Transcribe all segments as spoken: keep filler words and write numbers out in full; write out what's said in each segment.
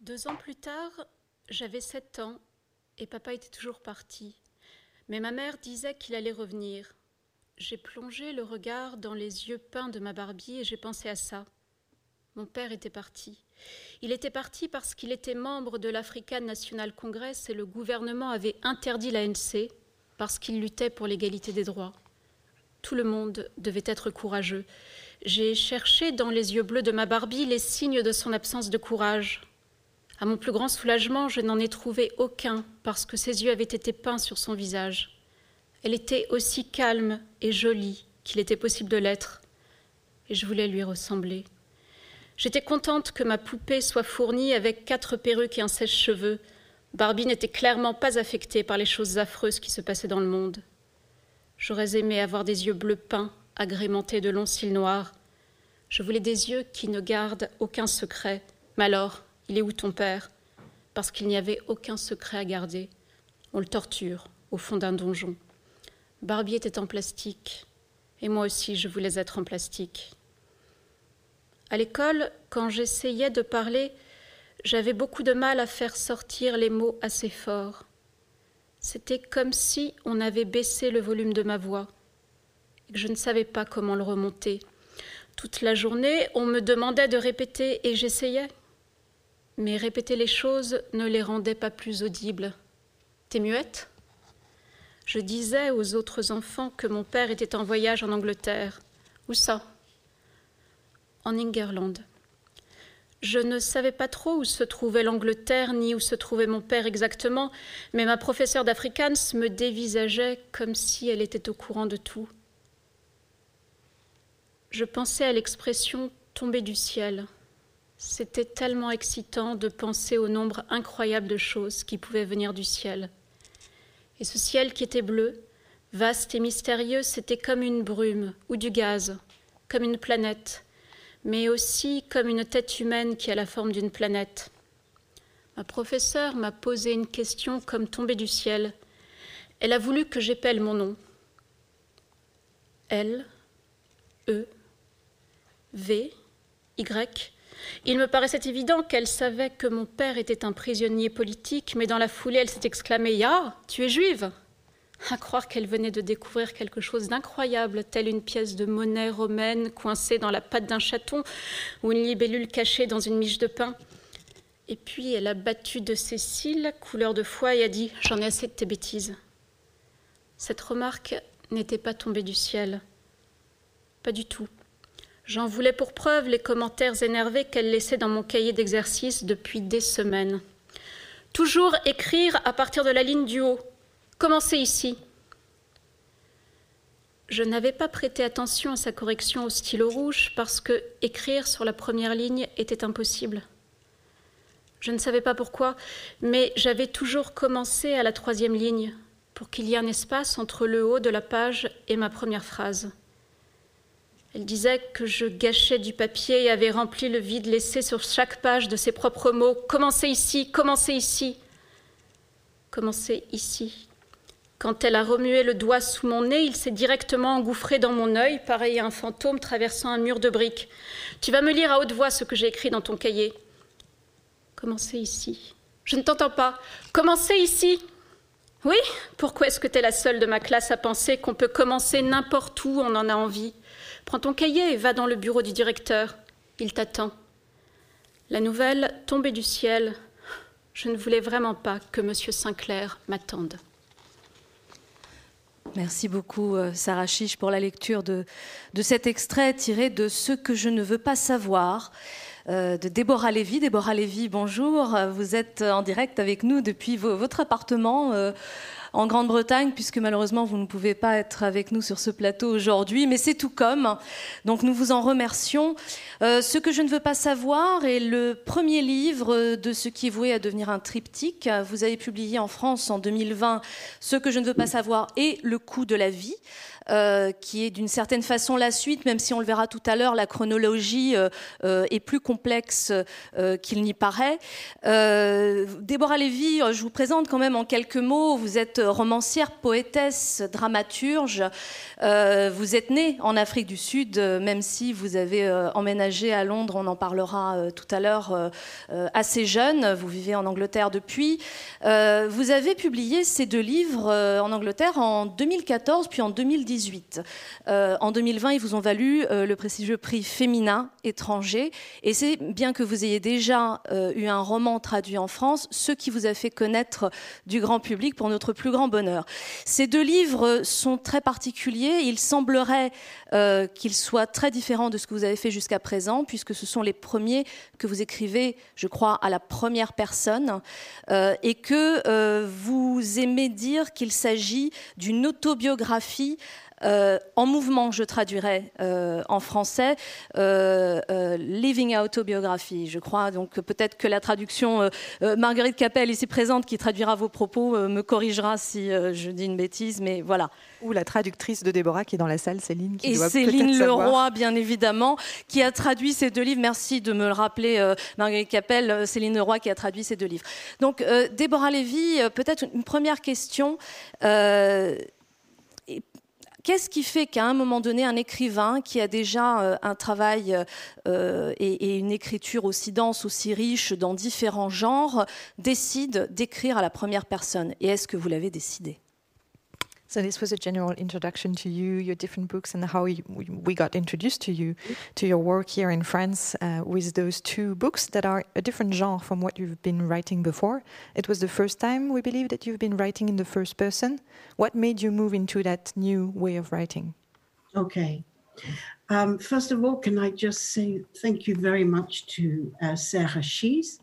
Deux ans plus tard, j'avais sept ans et papa était toujours parti. Mais ma mère disait qu'il allait revenir. J'ai plongé le regard dans les yeux peints de ma Barbie et j'ai pensé à ça. Mon père était parti. Il était parti parce qu'il était membre de l'African National Congress et le gouvernement avait interdit l'A N C parce qu'il luttait pour l'égalité des droits. Tout le monde devait être courageux. J'ai cherché dans les yeux bleus de ma Barbie les signes de son absence de courage. À mon plus grand soulagement, je n'en ai trouvé aucun parce que ses yeux avaient été peints sur son visage. Elle était aussi calme et jolie qu'il était possible de l'être, et je voulais lui ressembler. J'étais contente que ma poupée soit fournie avec quatre perruques et un sèche-cheveux. Barbie n'était clairement pas affectée par les choses affreuses qui se passaient dans le monde. J'aurais aimé avoir des yeux bleus peints, agrémentés de longs cils noirs. Je voulais des yeux qui ne gardent aucun secret. Mais alors, il est où ton père? Parce qu'il n'y avait aucun secret à garder. On le torture au fond d'un donjon. Barbie était en plastique, et moi aussi je voulais être en plastique. À l'école, quand j'essayais de parler, j'avais beaucoup de mal à faire sortir les mots assez forts. C'était comme si on avait baissé le volume de ma voix, et que je ne savais pas comment le remonter. Toute la journée, on me demandait de répéter, et j'essayais. Mais répéter les choses ne les rendait pas plus audibles. « T'es muette ?» Je disais aux autres enfants que mon père était en voyage en Angleterre. Où ça? En Ingerland. Je ne savais pas trop où se trouvait l'Angleterre ni où se trouvait mon père exactement, mais ma professeure d'Afrikaans me dévisageait comme si elle était au courant de tout. Je pensais à l'expression « tomber du ciel ». C'était tellement excitant de penser au nombre incroyable de choses qui pouvaient venir du ciel. Et ce ciel qui était bleu, vaste et mystérieux, c'était comme une brume ou du gaz, comme une planète, mais aussi comme une tête humaine qui a la forme d'une planète. Ma professeure m'a posé une question comme tombée du ciel. Elle a voulu que j'épelle mon nom. L, E, V, Y. Il me paraissait évident qu'elle savait que mon père était un prisonnier politique, mais dans la foulée, elle s'est exclamée « Ya, tu es juive !» À croire qu'elle venait de découvrir quelque chose d'incroyable, telle une pièce de monnaie romaine coincée dans la patte d'un chaton ou une libellule cachée dans une miche de pain. Et puis elle a battu de ses cils, couleur de foie, et a dit « J'en ai assez de tes bêtises ». Cette remarque n'était pas tombée du ciel. Pas du tout. J'en voulais pour preuve les commentaires énervés qu'elle laissait dans mon cahier d'exercice depuis des semaines. Toujours écrire à partir de la ligne du haut. Commencez ici. Je n'avais pas prêté attention à sa correction au stylo rouge parce que écrire sur la première ligne était impossible. Je ne savais pas pourquoi, mais j'avais toujours commencé à la troisième ligne pour qu'il y ait un espace entre le haut de la page et ma première phrase. Elle disait que je gâchais du papier et avait rempli le vide laissé sur chaque page de ses propres mots. « Commencez ici, commencez ici. » Commencez ici. Quand elle a remué le doigt sous mon nez, il s'est directement engouffré dans mon œil, pareil à un fantôme traversant un mur de briques. « Tu vas me lire à haute voix ce que j'ai écrit dans ton cahier. »« Commencez ici. »« Je ne t'entends pas. Commencez ici. » Oui, pourquoi est-ce que tu es la seule de ma classe à penser qu'on peut commencer n'importe où on en a envie? Prends ton cahier et va dans le bureau du directeur. Il t'attend. La nouvelle tombée du ciel. Je ne voulais vraiment pas que M. Sinclair m'attende. Merci beaucoup, Sarah Chiche, pour la lecture de, de cet extrait tiré de « Ce que je ne veux pas savoir » euh, de Déborah Lévy. Déborah Lévy, bonjour. Vous êtes en direct avec nous depuis vo- votre appartement euh, en Grande-Bretagne, puisque malheureusement, vous ne pouvez pas être avec nous sur ce plateau aujourd'hui, mais c'est tout comme. Donc, nous vous en remercions. Euh, ce que je ne veux pas savoir est le premier livre de ce qui est voué à devenir un triptyque. Vous avez publié en France en deux mille vingt « Ce que je ne veux pas savoir » et « Le coût de la vie ». euh, qui est d'une certaine façon la suite, même si on le verra tout à l'heure, la chronologie euh, euh, est plus complexe euh, qu'il n'y paraît. Euh, Déborah Lévy, je vous présente quand même en quelques mots. Vous êtes romancière, poétesse, dramaturge. Euh, vous êtes née en Afrique du Sud, euh, même si vous avez euh, emménagé à Londres, on en parlera euh, tout à l'heure, euh, euh, assez jeune. Vous vivez en Angleterre depuis. Euh, vous avez publié ces deux livres euh, en Angleterre en deux mille quatorze puis en deux mille dix-huit. Euh, en deux mille vingt, ils vous ont valu euh, le prestigieux prix Féminin étranger. Et c'est bien que vous ayez déjà euh, eu un roman traduit en France, ce qui vous a fait connaître du grand public pour notre plus grand bonheur. Ces deux livres sont très particuliers. Il semblerait euh, qu'ils soient très différents de ce que vous avez fait jusqu'à présent, puisque ce sont les premiers que vous écrivez, je crois, à la première personne, euh, et que euh, vous aimez dire qu'il s'agit d'une autobiographie Euh, en mouvement, je traduirais euh, en français, euh, euh, Living Autobiographie, je crois. Donc peut-être que la traduction, euh, euh, Marguerite Capelle, ici présente, qui traduira vos propos, euh, me corrigera si euh, je dis une bêtise, mais voilà. Ou la traductrice de Déborah qui est dans la salle, Céline. Qui Et doit Céline Leroy, savoir. Bien évidemment, qui a traduit ces deux livres. Merci de me le rappeler, euh, Marguerite Capelle, euh, Céline Leroy qui a traduit ces deux livres. Donc euh, Déborah Lévy, euh, peut-être une première question. Euh, Qu'est-ce qui fait qu'à un moment donné, un écrivain qui a déjà euh, un travail euh, et, et une écriture aussi dense, aussi riche dans différents genres, décide d'écrire à la première personne? Et est-ce que vous l'avez décidé? So this was a general introduction to you, your different books, and how you, we got introduced to you, to your work here in France uh, with those two books that are a different genre from what you've been writing before. It was the first time, we believe, that you've been writing in the first person. What made you move into that new way of writing? Okay. Um, first of all, can I just say thank you very much to uh, Sarah Schies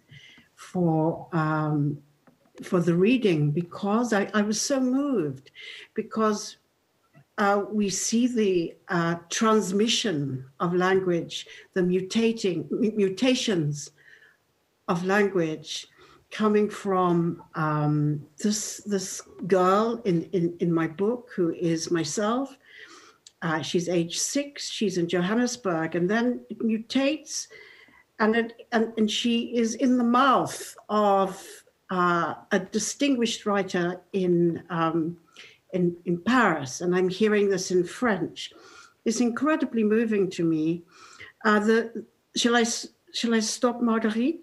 for um, for the reading, because I, I was so moved, because uh, we see the uh, transmission of language, the mutating mutations of language coming from um, this this girl in, in, in my book, who is myself. Uh, she's age six, she's in Johannesburg, and then it mutates, and, it, and, and she is in the mouth of Uh, a distinguished writer in, um, in in Paris, and I'm hearing this in French. It's incredibly moving to me. Uh, the shall I shall I stop, Marguerite,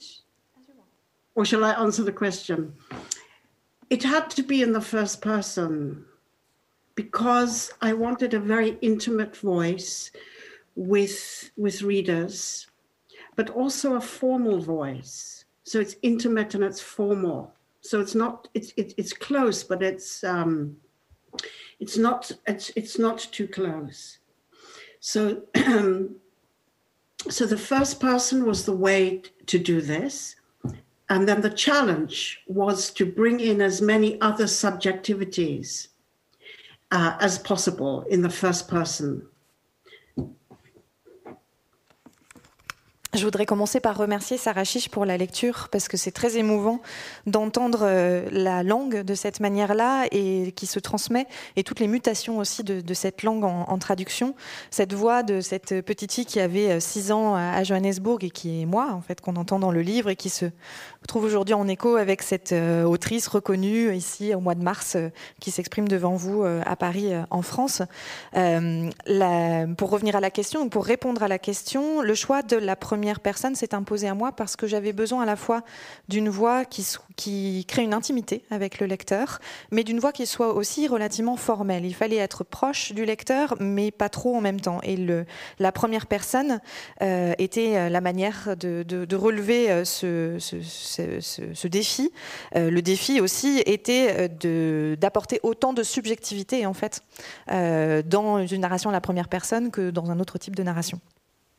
or shall I answer the question? It had to be in the first person because I wanted a very intimate voice with with readers, but also a formal voice. So it's intimate and it's formal. So it's not it's it's, it's close, but it's um, it's not it's it's not too close. So so the first person was the way to do this, and then the challenge was to bring in as many other subjectivities uh, as possible in the first person. Je voudrais commencer par remercier Sarah Chiche pour la lecture, parce que c'est très émouvant d'entendre euh, la langue de cette manière-là et qui se transmet, et toutes les mutations aussi de, de cette langue en, en traduction. Cette voix de cette petite fille qui avait six ans à Johannesburg et qui est moi, en fait, qu'on entend dans le livre et qui se trouve aujourd'hui en écho avec cette euh, autrice reconnue ici au mois de mars euh, qui s'exprime devant vous euh, à Paris, euh, en France. Euh, la, pour revenir à la question, pour répondre à la question, le choix de la première personne s'est imposé à moi parce que j'avais besoin à la fois d'une voix qui, qui crée une intimité avec le lecteur, mais d'une voix qui soit aussi relativement formelle. Il fallait être proche du lecteur, mais pas trop en même temps. Et le, la première personne euh, était la manière de, de, de relever ce, ce, ce, ce, ce défi. Euh, le défi aussi était de, d'apporter autant de subjectivité, en fait, euh, dans une narration à la première personne que dans un autre type de narration.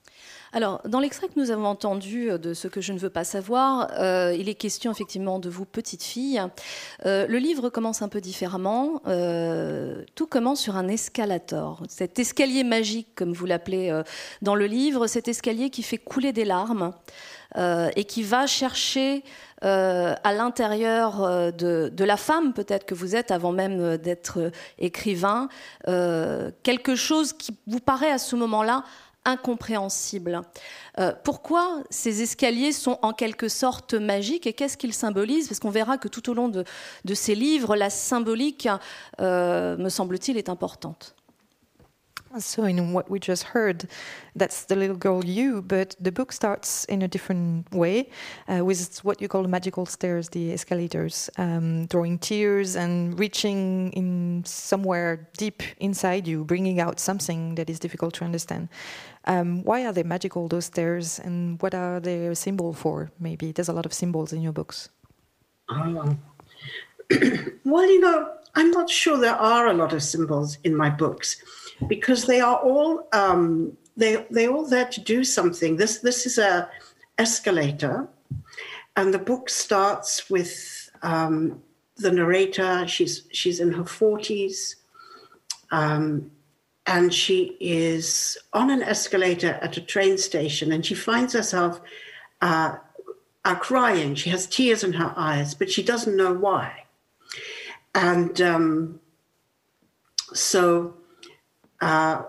Alors, dans l'extrait que nous avons entendu de Ce que je ne veux pas savoir, euh, il est question effectivement de vous, petite fille. Euh, le livre commence un peu différemment. Euh, tout commence sur un escalator. Cet escalier magique, comme vous l'appelez euh, dans le livre, cet escalier qui fait couler des larmes euh, et qui va chercher euh, à l'intérieur euh, de, de la femme, peut-être que vous êtes, avant même d'être écrivain, euh, quelque chose qui vous paraît à ce moment-là incompréhensible. Euh, pourquoi ces escaliers sont en quelque sorte magiques et qu'est-ce qu'ils symbolisent? Parce qu'on verra que tout au long de, de ces livres, la symbolique, euh, me semble-t-il, est importante. So in what we just heard, that's the little girl you, but the book starts in a different way, uh, with what you call the magical stairs, the escalators, um, drawing tears and reaching in somewhere deep inside you, bringing out something that is difficult to understand. Um, why are they magical, those stairs, and what are they a symbol for? Maybe there's a lot of symbols in your books. Oh. Well, you know, I'm not sure there are a lot of symbols in my books, because they are all um, they they all there to do something. This this is a escalator, and the book starts with um, the narrator. She's she's in her forties, um, and she is on an escalator at a train station, and she finds herself uh, uh, crying. She has tears in her eyes, but she doesn't know why, and um, so. Uh,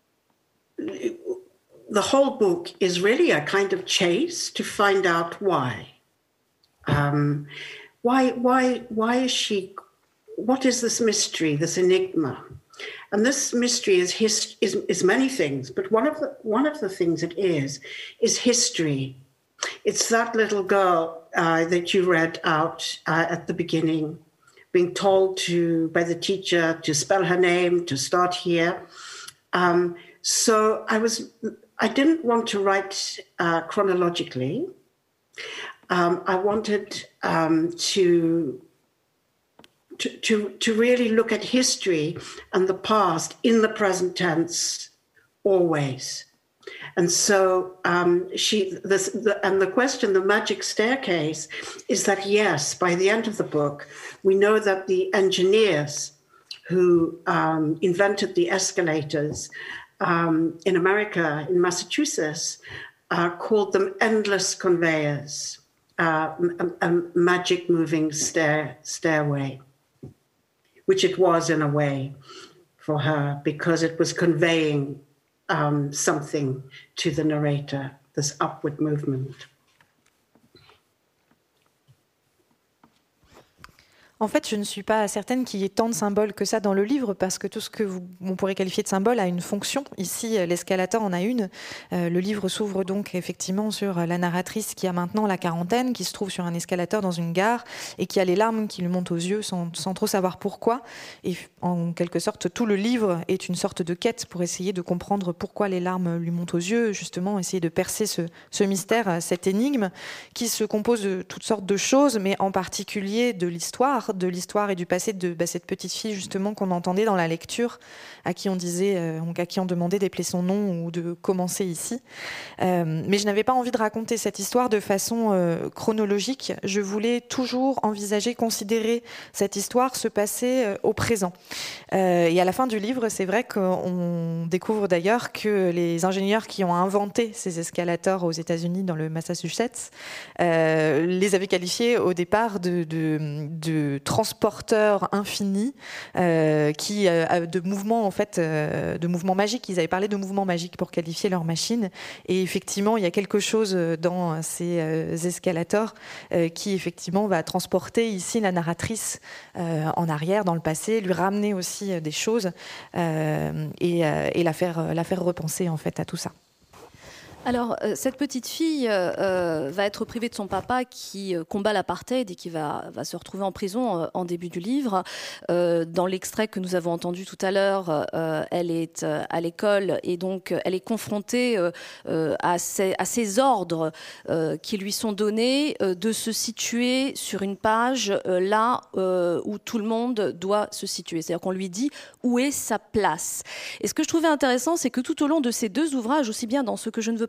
the whole book is really a kind of chase to find out why. Um, why, why, why is she? What is this mystery, this enigma? And this mystery is his, is, is many things, but one of the one of the things it is is history. It's that little girl uh, that you read out uh, at the beginning, being told to by the teacher to spell her name, to start here. Um, so I was, I didn't want to write uh, chronologically. Um, I wanted um, to, to to to really look at history and the past in the present tense, always. And so um, she, this, the, and the question, the magic staircase, is that yes, by the end of the book, we know that the engineers who um, invented the escalators um, in America, in Massachusetts, uh, called them endless conveyors, uh, a, a magic moving stair, stairway, which it was in a way for her, because it was conveying Um, something to the narrator, this upward movement. En fait, je ne suis pas certaine qu'il y ait tant de symboles que ça dans le livre, parce que tout ce que vous, on pourrait qualifier de symbole a une fonction. Ici, l'escalator en a une. Euh, le livre s'ouvre donc effectivement sur la narratrice qui a maintenant la quarantaine, qui se trouve sur un escalator dans une gare et qui a les larmes qui lui montent aux yeux sans, sans trop savoir pourquoi. Et en quelque sorte, tout le livre est une sorte de quête pour essayer de comprendre pourquoi les larmes lui montent aux yeux, justement essayer de percer ce, ce mystère, cette énigme qui se compose de toutes sortes de choses, mais en particulier de l'histoire, de l'histoire et du passé de bah, cette petite fille justement qu'on entendait dans la lecture, à qui on disait, euh, à qui on demandait d'épeler son nom ou de commencer ici. Euh, mais je n'avais pas envie de raconter cette histoire de façon euh, chronologique. Je voulais toujours envisager, considérer cette histoire se passer euh, au présent. Euh, et à la fin du livre, c'est vrai qu'on découvre d'ailleurs que les ingénieurs qui ont inventé ces escalators aux États-Unis, dans le Massachusetts, euh, les avaient qualifiés au départ de, de, de transporteurs infinis, euh, qui euh, de mouvements en fait, euh, de mouvements magiques. Ils avaient parlé de mouvements magiques pour qualifier leur machine. Et effectivement, il y a quelque chose dans ces euh, escalators euh, qui effectivement va transporter ici la narratrice euh, en arrière, dans le passé, lui ramener aussi des choses euh, et, euh, et la faire, la faire repenser en fait à tout ça. Alors, euh, cette petite fille euh, va être privée de son papa qui euh, combat l'apartheid et qui va, va se retrouver en prison euh, en début du livre. Euh, dans l'extrait que nous avons entendu tout à l'heure, euh, elle est euh, à l'école et donc elle est confrontée euh, euh, à, ces, à ces ordres euh, qui lui sont donnés euh, de se situer sur une page euh, là euh, où tout le monde doit se situer. C'est-à-dire qu'on lui dit où est sa place. Et ce que je trouvais intéressant, c'est que tout au long de ces deux ouvrages, aussi bien dans Ce que je ne veux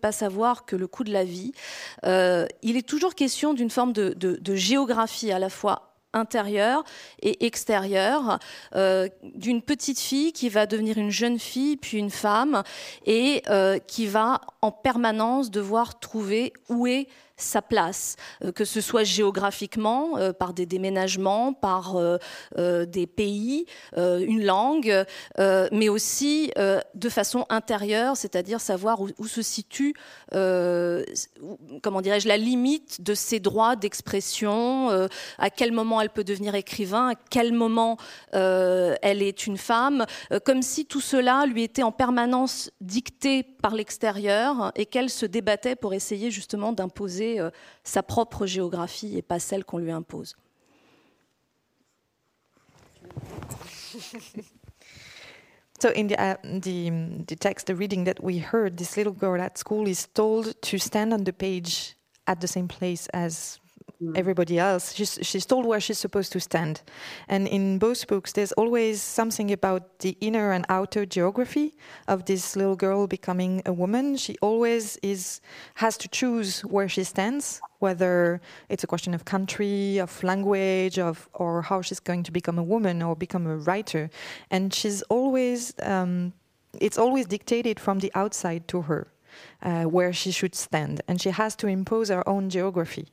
pas savoir que le coût de la vie. Euh, il est toujours question d'une forme de, de, de géographie à la fois intérieure et extérieure, euh, d'une petite fille qui va devenir une jeune fille, puis une femme, et euh, qui va en permanence devoir trouver où est sa place, euh, que ce soit géographiquement, euh, par des déménagements, par euh, euh, des pays, euh, une langue, euh, mais aussi euh, de façon intérieure, c'est-à-dire savoir où, où se situe, euh, comment dirais-je, la limite de ses droits d'expression, euh, à quel moment elle peut devenir écrivain, à quel moment euh, elle est une femme, euh, comme si tout cela lui était en permanence dicté par l'extérieur et qu'elle se débattait pour essayer justement d'imposer euh, sa propre géographie et pas celle qu'on lui impose. So in the, uh, the, the text, the reading that we heard, this little girl at school is told to stand on the page at the same place as everybody else. She's, she's told where she's supposed to stand. And in both books, there's always something about the inner and outer geography of this little girl becoming a woman. She always is has to choose where she stands, whether it's a question of country, of language, of or how she's going to become a woman or become a writer. And she's always, um, it's always dictated from the outside to her, uh, where she should stand. And she has to impose her own geography.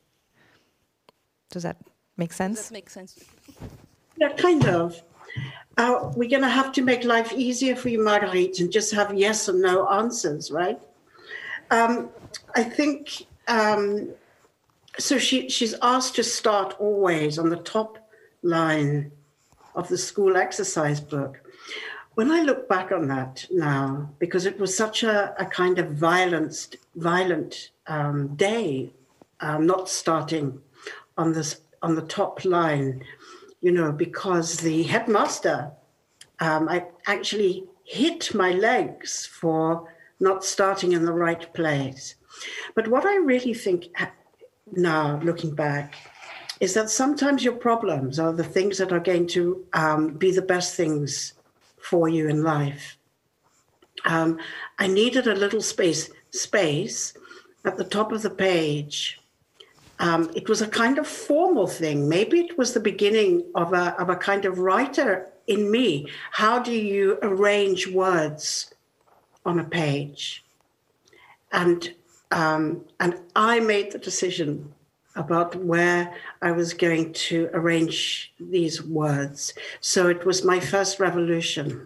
Does that make sense? Does that make sense? Yeah, kind of. Uh, we're going to have to make life easier for you, Marguerite, and just have yes or no answers, right? Um, I think, um, so she, she's asked to start always on the top line of the school exercise book. When I look back on that now, because it was such a, a kind of violent, violent um, day, um, not starting on this on the top line, you know, because the headmaster um, I actually hit my legs for not starting in the right place. But what I really think now, looking back, is that sometimes your problems are the things that are going to um, be the best things for you in life. Um, I needed a little space, space at the top of the page. Um, it was a kind of formal thing. Maybe it was the beginning of a, of a kind of writer in me. How do you arrange words on a page? And, um, and I made the decision about where I was going to arrange these words. So it was my first revolution.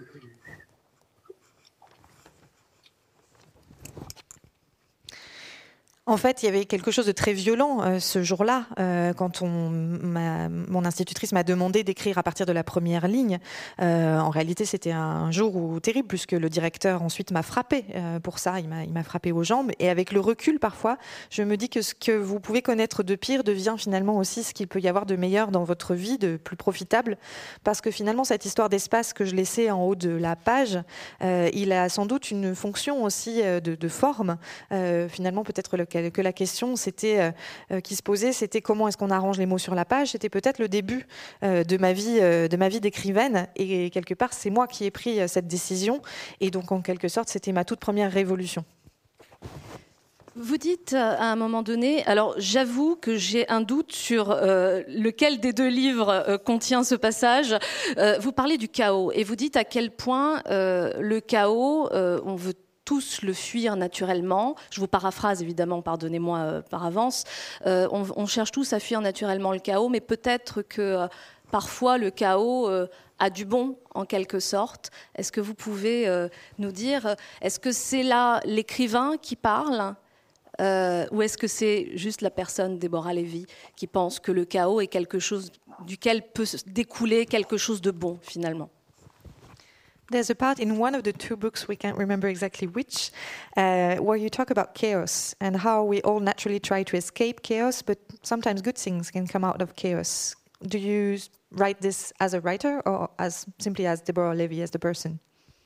En fait, il y avait quelque chose de très violent euh, ce jour-là, euh, quand on, ma, mon institutrice m'a demandé d'écrire à partir de la première ligne. Euh, en réalité, c'était un jour où, terrible, puisque le directeur ensuite m'a frappé euh, pour ça. Il m'a, il m'a frappé aux jambes. Et avec le recul, parfois, je me dis que ce que vous pouvez connaître de pire devient finalement aussi ce qu'il peut y avoir de meilleur dans votre vie, de plus profitable. Parce que finalement, cette histoire d'espace que je laissais en haut de la page, euh, il a sans doute une fonction aussi de, de forme. Euh, finalement, peut-être le que la question c'était, euh, qui se posait, c'était comment est-ce qu'on arrange les mots sur la page. C'était peut-être le début euh, de ma vie, euh, de ma vie d'écrivaine. Et quelque part, c'est moi qui ai pris euh, cette décision. Et donc, en quelque sorte, c'était ma toute première révolution. Vous dites à un moment donné, alors j'avoue que j'ai un doute sur euh, lequel des deux livres euh, contient ce passage. Euh, vous parlez du chaos et vous dites à quel point euh, le chaos, euh, on veut tous le fuir naturellement. Je vous paraphrase évidemment, pardonnez-moi euh, par avance. Euh, on, on cherche tous à fuir naturellement le chaos, mais peut-être que euh, parfois le chaos euh, a du bon en quelque sorte. Est-ce que vous pouvez euh, nous dire, est-ce que c'est là l'écrivain qui parle euh, ou est-ce que c'est juste la personne, Déborah Lévy, qui pense que le chaos est quelque chose duquel peut découler quelque chose de bon finalement? There's a part in one of the two books, we can't remember exactly which, uh, where you talk about chaos and how we all naturally try to escape chaos, but sometimes good things can come out of chaos. Do you write this as a writer or as simply as Deborah Lévy, as the person?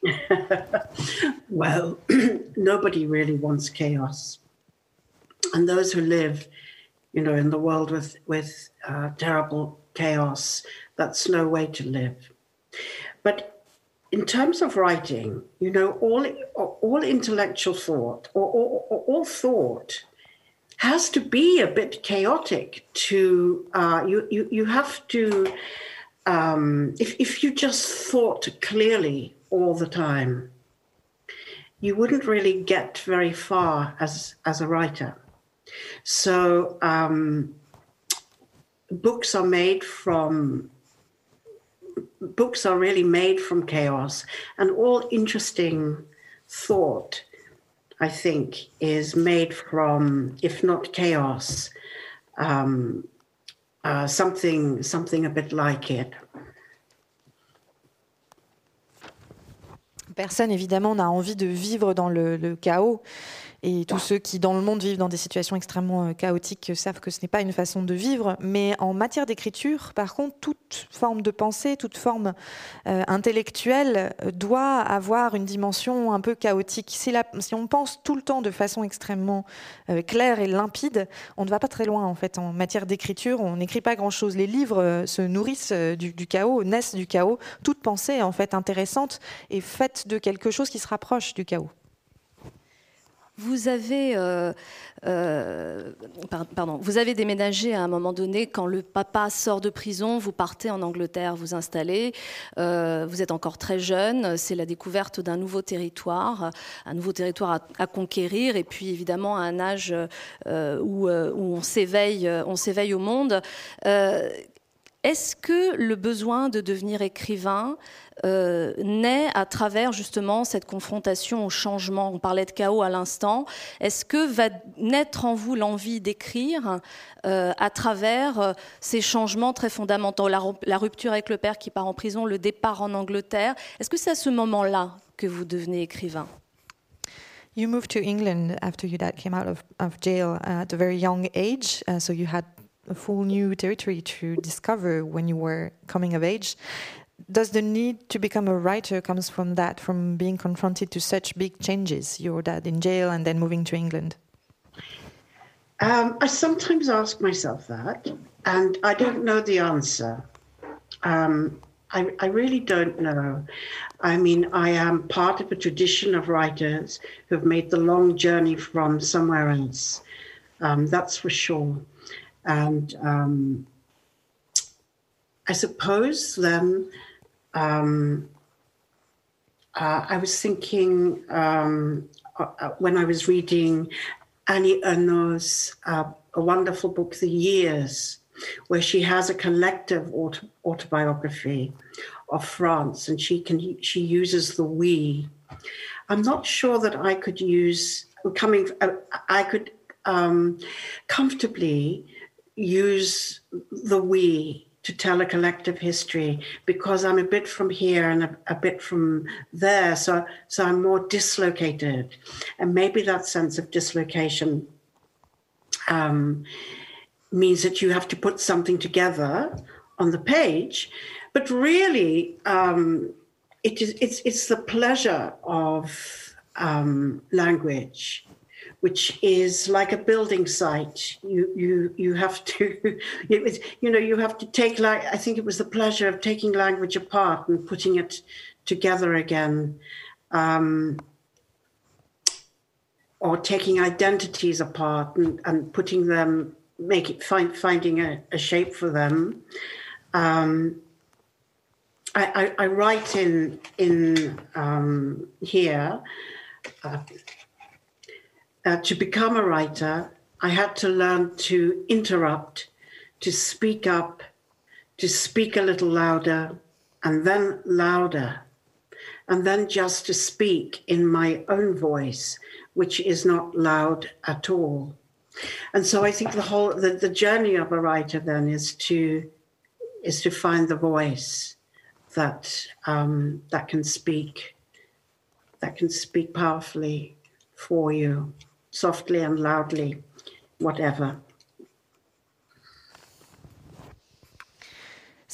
Well, nobody really wants chaos. And those who live, you know, in the world with, with uh, terrible chaos, that's no way to live. But in terms of writing, you know, all all intellectual thought or, or, or all thought has to be a bit chaotic. To uh, you, you you have to um, if if you just thought clearly all the time, you wouldn't really get very far as as a writer. So um, books are made from. Books are really made from chaos, and all interesting thought, I think, is made from, if not chaos, um, uh, something, something a bit like it. Personne, évidemment, n'a envie de vivre dans le, le chaos. Et tous ceux qui, dans le monde, vivent dans des situations extrêmement chaotiques savent que ce n'est pas une façon de vivre. Mais en matière d'écriture, par contre, toute forme de pensée, toute forme euh, intellectuelle doit avoir une dimension un peu chaotique. Si, la, si on pense tout le temps de façon extrêmement euh, claire et limpide, on ne va pas très loin, en fait. En matière d'écriture, on n'écrit pas grand-chose. Les livres euh, se nourrissent euh, du, du chaos, naissent du chaos. Toute pensée, en fait, intéressante est faite de quelque chose qui se rapproche du chaos. Vous avez, euh, euh, pardon, vous avez déménagé à un moment donné quand le papa sort de prison, vous partez en Angleterre, vous installez, euh, vous êtes encore très jeune, c'est la découverte d'un nouveau territoire, un nouveau territoire à, à conquérir, et puis évidemment à un âge euh, où, euh, où on s'éveille, on s'éveille au monde. Euh, Est-ce que le besoin de devenir écrivain euh, naît à travers justement cette confrontation au changement? On parlait de chaos à l'instant. Est-ce que va naître en vous l'envie d'écrire euh, à travers euh, ces changements très fondamentaux, la, la rupture avec le père qui part en prison, le départ en Angleterre? Est-ce que c'est à ce moment-là que vous devenez écrivain? You moved to England after your dad came out of, of jail at a very young age, uh, so you had a full new territory to discover when you were coming of age. Does the need to become a writer comes from that, from being confronted to such big changes, your dad in jail and then moving to England? Um, I sometimes ask myself that, and I don't know the answer. Um, I, I really don't know. I mean, I am part of a tradition of writers who have made the long journey from somewhere else. Um, that's for sure. And um, I suppose then um, uh, I was thinking um, uh, when I was reading Annie Ernaux's uh, a wonderful book, The Years, where she has a collective auto- autobiography of France, and she can she uses the we. I'm not sure that I could use coming. Uh, I could um, comfortably use the we to tell a collective history, because I'm a bit from here and a, a bit from there, so so I'm more dislocated, and maybe that sense of dislocation um, means that you have to put something together on the page, but really um, it is it's it's the pleasure of um, language, which is like a building site. You you you have to, you know, you have to take, like, I think it was the pleasure of taking language apart and putting it together again, um, or taking identities apart and, and putting them, make it find finding a, a shape for them. Um, I, I, I write in in um, here. Uh, Uh, to become a writer, I had to learn to interrupt, to speak up, to speak a little louder, and then louder, and then just to speak in my own voice, which is not loud at all. And so I think the whole the, the journey of a writer then is to is to find the voice that um, that can speak, that can speak powerfully for you. Softly and loudly, whatever.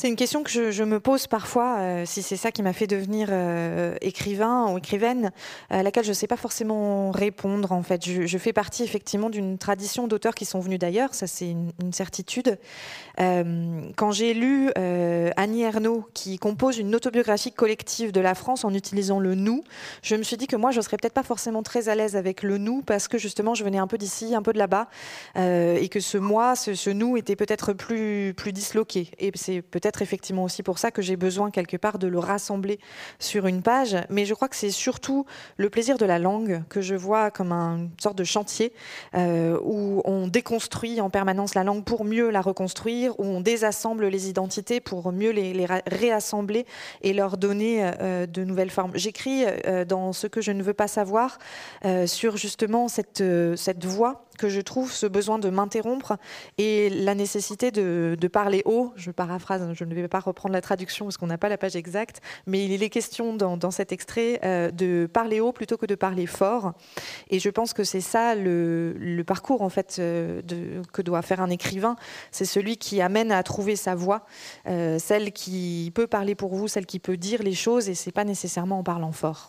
C'est une question que je, je me pose parfois, euh, si c'est ça qui m'a fait devenir euh, écrivain ou écrivaine, à laquelle je ne sais pas forcément répondre. En fait, je, je fais partie effectivement d'une tradition d'auteurs qui sont venus d'ailleurs, ça c'est une, une certitude. Euh, quand j'ai lu euh, Annie Ernaux, qui compose une autobiographie collective de la France en utilisant le nous, je me suis dit que moi je serais peut-être pas forcément très à l'aise avec le nous, parce que justement je venais un peu d'ici, un peu de là-bas, euh, et que ce moi, ce, ce nous était peut-être plus, plus disloqué. Et c'est peut-être effectivement aussi pour ça que j'ai besoin quelque part de le rassembler sur une page. Mais je crois que c'est surtout le plaisir de la langue que je vois comme un, une sorte de chantier euh, où on déconstruit en permanence la langue pour mieux la reconstruire, où on désassemble les identités pour mieux les, les réassembler et leur donner euh, de nouvelles formes. J'écris euh, dans Ce que je ne veux pas savoir euh, sur justement cette, euh, cette voix que je trouve, ce besoin de m'interrompre et la nécessité de, de parler haut. Je paraphrase, je ne vais pas reprendre la traduction parce qu'on n'a pas la page exacte, mais il est question dans, dans cet extrait euh, de parler haut plutôt que de parler fort. Et je pense que c'est ça le, le parcours en fait euh, de, que doit faire un écrivain. C'est celui qui amène à trouver sa voix, euh, celle qui peut parler pour vous, celle qui peut dire les choses, et c'est pas nécessairement en parlant fort.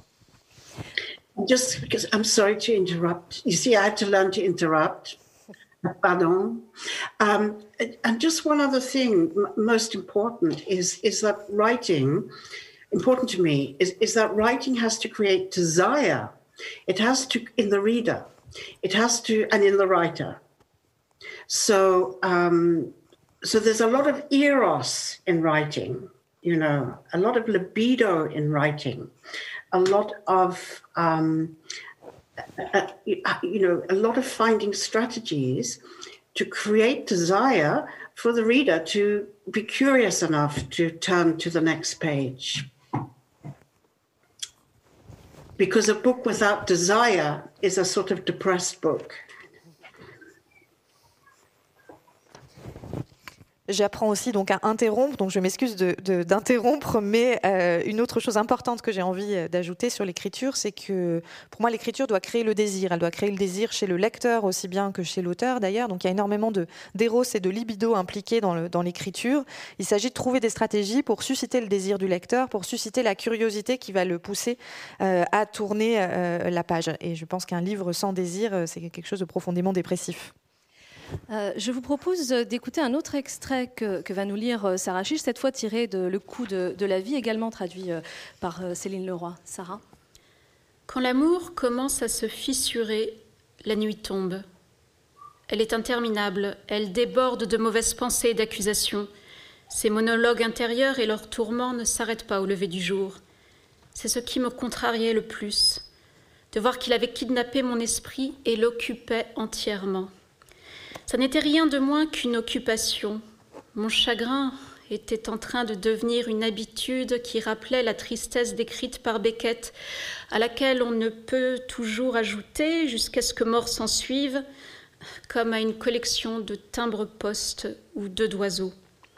Just because I'm sorry to interrupt. You see, I had to learn to interrupt. Pardon. Um, and just one other thing, most important, is, is that writing, important to me, is, is that writing has to create desire. It has to, in the reader, it has to, and in the writer. So, um, so there's a lot of eros in writing, you know, a lot of libido in writing. A lot of, um, uh, you know, a lot of finding strategies to create desire for the reader to be curious enough to turn to the next page. Because a book without desire is a sort of depressed book. J'apprends aussi donc à interrompre, donc je m'excuse de, de, d'interrompre, mais euh, une autre chose importante que j'ai envie d'ajouter sur l'écriture, c'est que pour moi l'écriture doit créer le désir, elle doit créer le désir chez le lecteur aussi bien que chez l'auteur d'ailleurs, donc il y a énormément de, d'éros et de libido impliqués dans, le, dans l'écriture. Il s'agit de trouver des stratégies pour susciter le désir du lecteur, pour susciter la curiosité qui va le pousser euh, à tourner euh, la page, et je pense qu'un livre sans désir, c'est quelque chose de profondément dépressif. Euh, je vous propose d'écouter un autre extrait que, que va nous lire Sarah Chiche, cette fois tiré de Le coup de, de la vie, également traduit par Céline Leroy. Sarah. Quand l'amour commence à se fissurer, la nuit tombe. Elle est interminable, elle déborde de mauvaises pensées et d'accusations. Ses monologues intérieurs et leurs tourments ne s'arrêtent pas au lever du jour. C'est ce qui me contrariait le plus, de voir qu'il avait kidnappé mon esprit et l'occupait entièrement. Ça n'était rien de moins qu'une occupation. Mon chagrin était en train de devenir une habitude qui rappelait la tristesse décrite par Beckett, à laquelle on ne peut toujours ajouter, jusqu'à ce que mort s'en suive, comme à une collection de timbres-poste ou d'œufs d'oiseaux.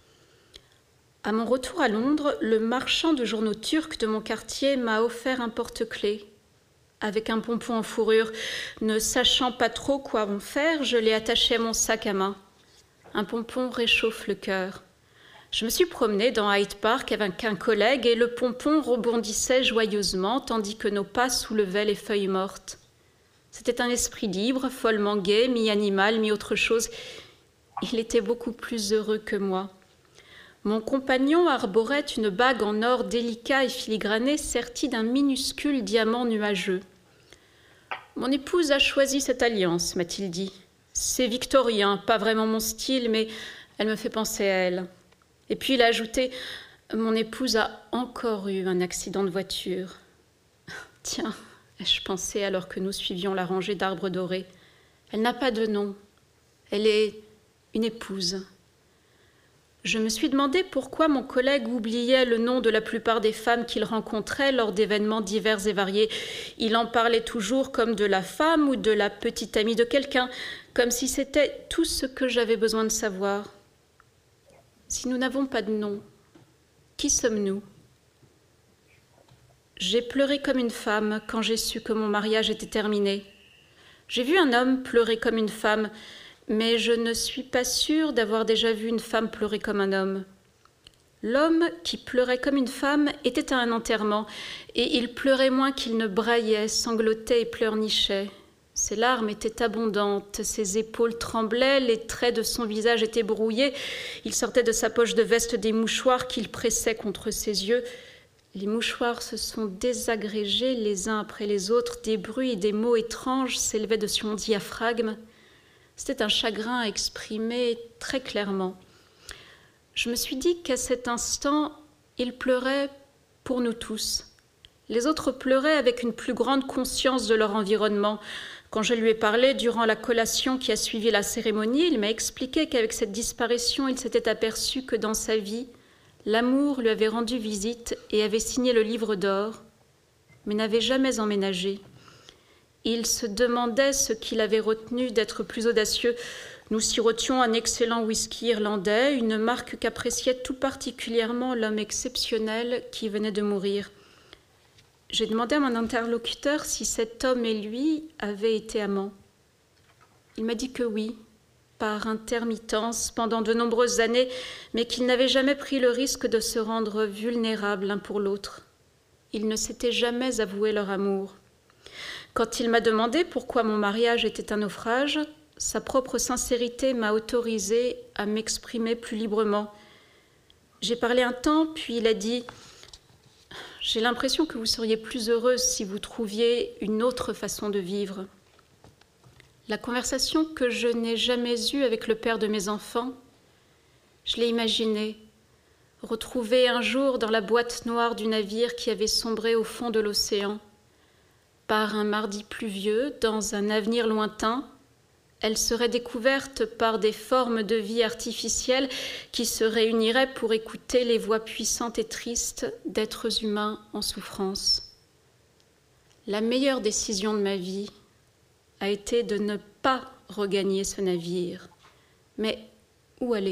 À mon retour à Londres, le marchand de journaux turcs de mon quartier m'a offert un porte-clés. Avec un pompon en fourrure, ne sachant pas trop quoi en faire, je l'ai attaché à mon sac à main. Un pompon réchauffe le cœur. Je me suis promenée dans Hyde Park avec un collègue et le pompon rebondissait joyeusement tandis que nos pas soulevaient les feuilles mortes. C'était un esprit libre, follement gai, mi-animal, mi-autre chose. Il était beaucoup plus heureux que moi. Mon compagnon arborait une bague en or délicat et filigrané sertie d'un minuscule diamant nuageux. « Mon épouse a choisi cette alliance, m'a-t-il dit. C'est victorien, pas vraiment mon style, mais elle me fait penser à elle. » Et puis il a ajouté « Mon épouse a encore eu un accident de voiture. » Tiens, ai-je pensé alors que nous suivions la rangée d'arbres dorés. Elle n'a pas de nom. Elle est une épouse. Je me suis demandé pourquoi mon collègue oubliait le nom de la plupart des femmes qu'il rencontrait lors d'événements divers et variés. Il en parlait toujours comme de la femme ou de la petite amie de quelqu'un, comme si c'était tout ce que j'avais besoin de savoir. Si nous n'avons pas de nom, qui sommes-nous ? J'ai pleuré comme une femme quand j'ai su que mon mariage était terminé. J'ai vu un homme pleurer comme une femme, mais je ne suis pas sûre d'avoir déjà vu une femme pleurer comme un homme. L'homme qui pleurait comme une femme était à un enterrement, et il pleurait moins qu'il ne braillait, sanglotait et pleurnichait. Ses larmes étaient abondantes, ses épaules tremblaient, les traits de son visage étaient brouillés. Il sortait de sa poche de veste des mouchoirs qu'il pressait contre ses yeux. Les mouchoirs se sont désagrégés les uns après les autres, des bruits et des mots étranges s'élevaient de son diaphragme. C'était un chagrin exprimé très clairement. Je me suis dit qu'à cet instant, il pleurait pour nous tous. Les autres pleuraient avec une plus grande conscience de leur environnement. Quand je lui ai parlé durant la collation qui a suivi la cérémonie, il m'a expliqué qu'avec cette disparition, il s'était aperçu que dans sa vie, l'amour lui avait rendu visite et avait signé le livre d'or, mais n'avait jamais emménagé. Il se demandait ce qui l'avait retenu d'être plus audacieux. Nous sirotions un excellent whisky irlandais, une marque qu'appréciait tout particulièrement l'homme exceptionnel qui venait de mourir. J'ai demandé à mon interlocuteur si cet homme et lui avaient été amants. Il m'a dit que oui, par intermittence, pendant de nombreuses années, mais qu'ils n'avaient jamais pris le risque de se rendre vulnérables l'un pour l'autre. Ils ne s'étaient jamais avoué leur amour. Quand il m'a demandé pourquoi mon mariage était un naufrage, sa propre sincérité m'a autorisée à m'exprimer plus librement. J'ai parlé un temps, puis il a dit « J'ai l'impression que vous seriez plus heureuse si vous trouviez une autre façon de vivre. » La conversation que je n'ai jamais eue avec le père de mes enfants, je l'ai imaginée, retrouvée un jour dans la boîte noire du navire qui avait sombré au fond de l'océan. Par un mardi pluvieux, dans un avenir lointain, elle serait découverte par des formes de vie artificielles qui se réuniraient pour écouter les voix puissantes et tristes d'êtres humains en souffrance. La meilleure décision de ma vie a été de ne pas regagner ce navire. Mais où aller ?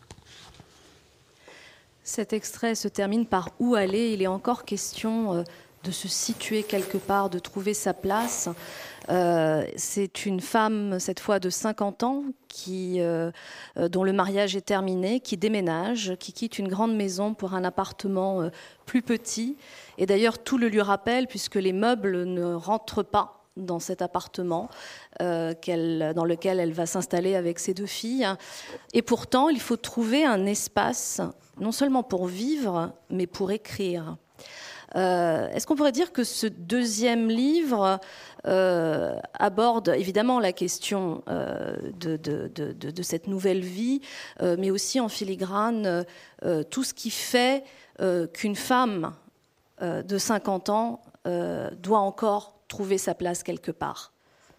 Cet extrait se termine par « Où aller ?» Il est encore question de se situer quelque part, de trouver sa place. Euh, c'est une femme, cette fois de cinquante ans, qui, euh, dont le mariage est terminé, qui déménage, qui quitte une grande maison pour un appartement euh, plus petit. Et d'ailleurs, tout le lui rappelle, puisque les meubles ne rentrent pas dans cet appartement euh, qu'elle, dans lequel elle va s'installer avec ses deux filles. Et pourtant, il faut trouver un espace, non seulement pour vivre, mais pour écrire. Euh, est-ce qu'on pourrait dire que ce deuxième livre euh, aborde évidemment la question euh, de, de, de, de, de cette nouvelle vie, euh, mais aussi en filigrane euh, tout ce qui fait euh, qu'une femme euh, de cinquante ans euh, doit encore trouver sa place quelque part?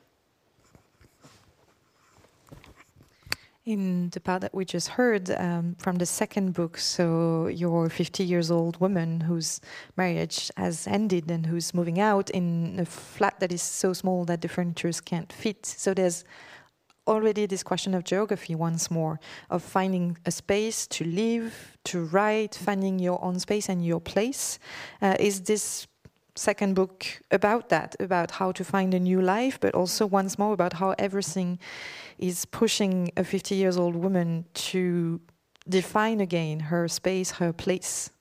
In the part that we just heard um, from the second book, so your fifty years old woman whose marriage has ended and who's moving out in a flat that is so small that the furnitures can't fit. So there's already this question of geography once more, of finding a space to live, to write, finding your own space and your place. Uh, is this second book about that, about how to find a new life, but also once more about how everything is pushing a fifty years old woman to define again her space, her place?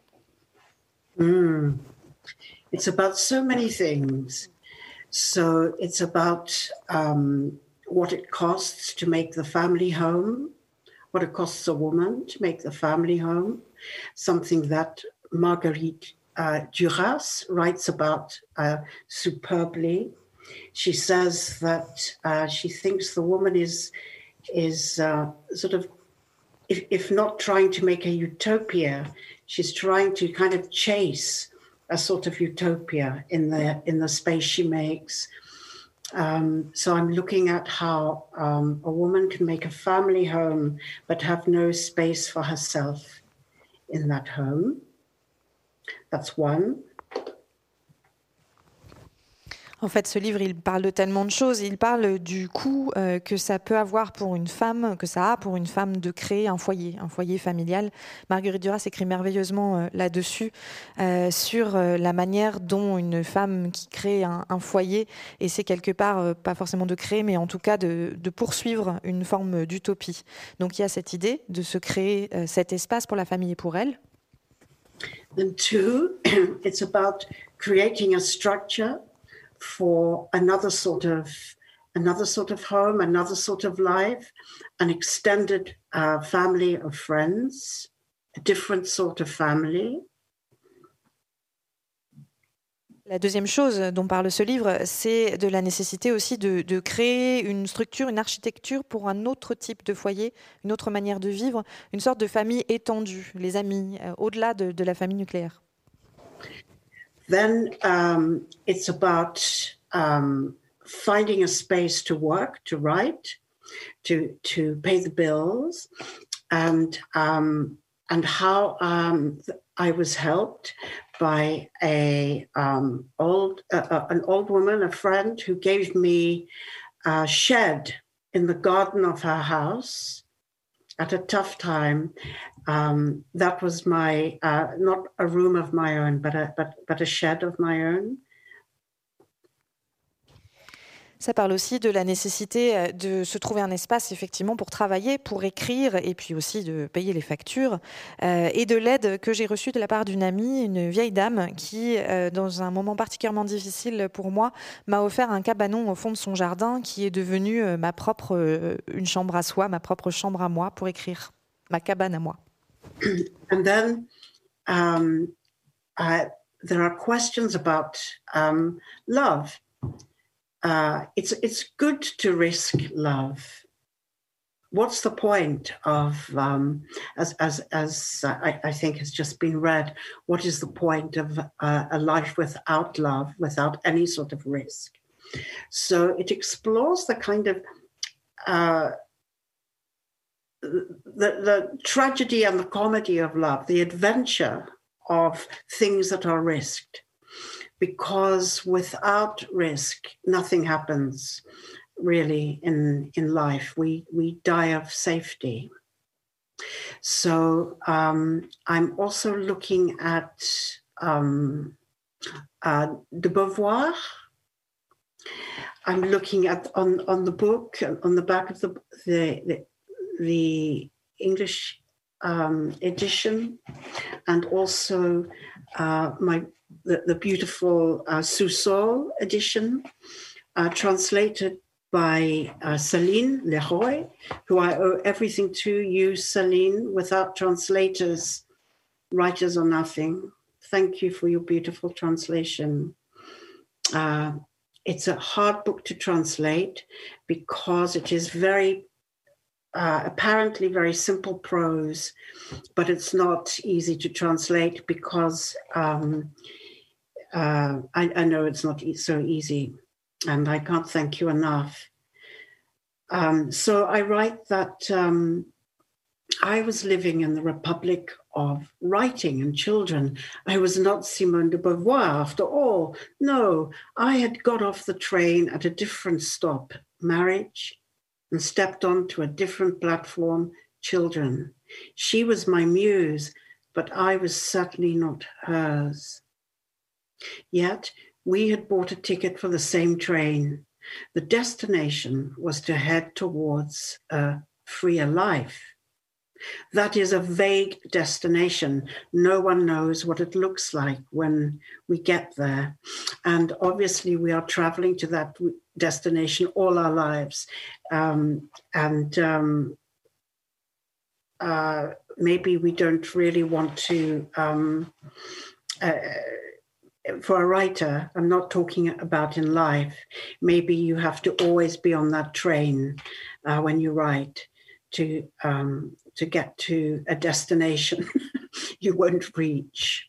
Mm. It's about so many things. So it's about um, what it costs to make the family home, what it costs a woman to make the family home, something that Marguerite uh, Duras writes about uh, superbly. She says that uh, she thinks the woman is is uh, sort of, if, if not trying to make a utopia, she's trying to kind of chase a sort of utopia in the in the space she makes. Um, so I'm looking at how um, a woman can make a family home but have no space for herself in that home. That's one. En fait, ce livre, il parle de tellement de choses. Il parle du coût euh, que ça peut avoir pour une femme, que ça a pour une femme de créer un foyer, un foyer familial. Marguerite Duras écrit merveilleusement euh, là-dessus, euh, sur euh, la manière dont une femme qui crée un, un foyer essaie quelque part, euh, pas forcément de créer, mais en tout cas de, de poursuivre une forme d'utopie. Donc il y a cette idée de se créer euh, cet espace pour la famille et pour elle. And two, it's about creating a structure for another sort of another sort of home, another sort of life, an extended uh, family of friends, a different sort of family. La deuxième chose dont parle ce livre, c'est de la nécessité aussi de, de créer une structure, une architecture pour un autre type de foyer, une autre manière de vivre, une sorte de famille étendue, les amis, euh, au-delà de, de la famille nucléaire. Then um, it's about um, finding a space to work, to write, to to pay the bills, and um, and how um, I was helped by a um, old uh, an old woman, a friend, who gave me a shed in the garden of her house at a tough time. Um, that was my, uh, not a room of my own, but a, but, but a shed of my own. Ça parle aussi de la nécessité de se trouver un espace effectivement pour travailler, pour écrire et puis aussi de payer les factures euh, et de l'aide que j'ai reçue de la part d'une amie, une vieille dame qui, euh, dans un moment particulièrement difficile pour moi, m'a offert un cabanon au fond de son jardin qui est devenu euh, ma propre, euh, une chambre à soi, ma propre chambre à moi pour écrire, ma cabane à moi. And then um, uh, there are questions about um, love. Uh, it's it's good to risk love. What's the point of um, as as as uh, I, I think has just been read? What is the point of uh, a life without love, without any sort of risk? So it explores the kind of uh, the the tragedy and the comedy of love, the adventure of things that are risked. Because without risk, nothing happens really in, in life. We, we die of safety. So um, I'm also looking at um, uh, de Beauvoir. I'm looking at on, on the book, on the back of the, the, the, the English um, edition, and also uh, my The, the beautiful uh, Sous-Sol edition, uh, translated by uh, Céline Leroy, who I owe everything to. You, Céline, without translators, writers are nothing. Thank you for your beautiful translation. Uh, it's a hard book to translate because it is very, uh, apparently very simple prose, but it's not easy to translate because um, Uh, I, I know it's not e- so easy, and I can't thank you enough. Um, so I write that um, I was living in the Republic of Writing and Children. I was not Simone de Beauvoir after all. No, I had got off the train at a different stop, marriage, and stepped onto a different platform, children. She was my muse, but I was certainly not hers. Yet we had bought a ticket for the same train. The destination was to head towards a freer life. That is a vague destination. No one knows what it looks like when we get there. And obviously we are traveling to that destination all our lives. Um, and um, uh, maybe we don't really want to... Um, uh, For a writer, I'm not talking about in life. Maybe you have to always be on that train uh, when you write to um, to get to a destination you won't reach.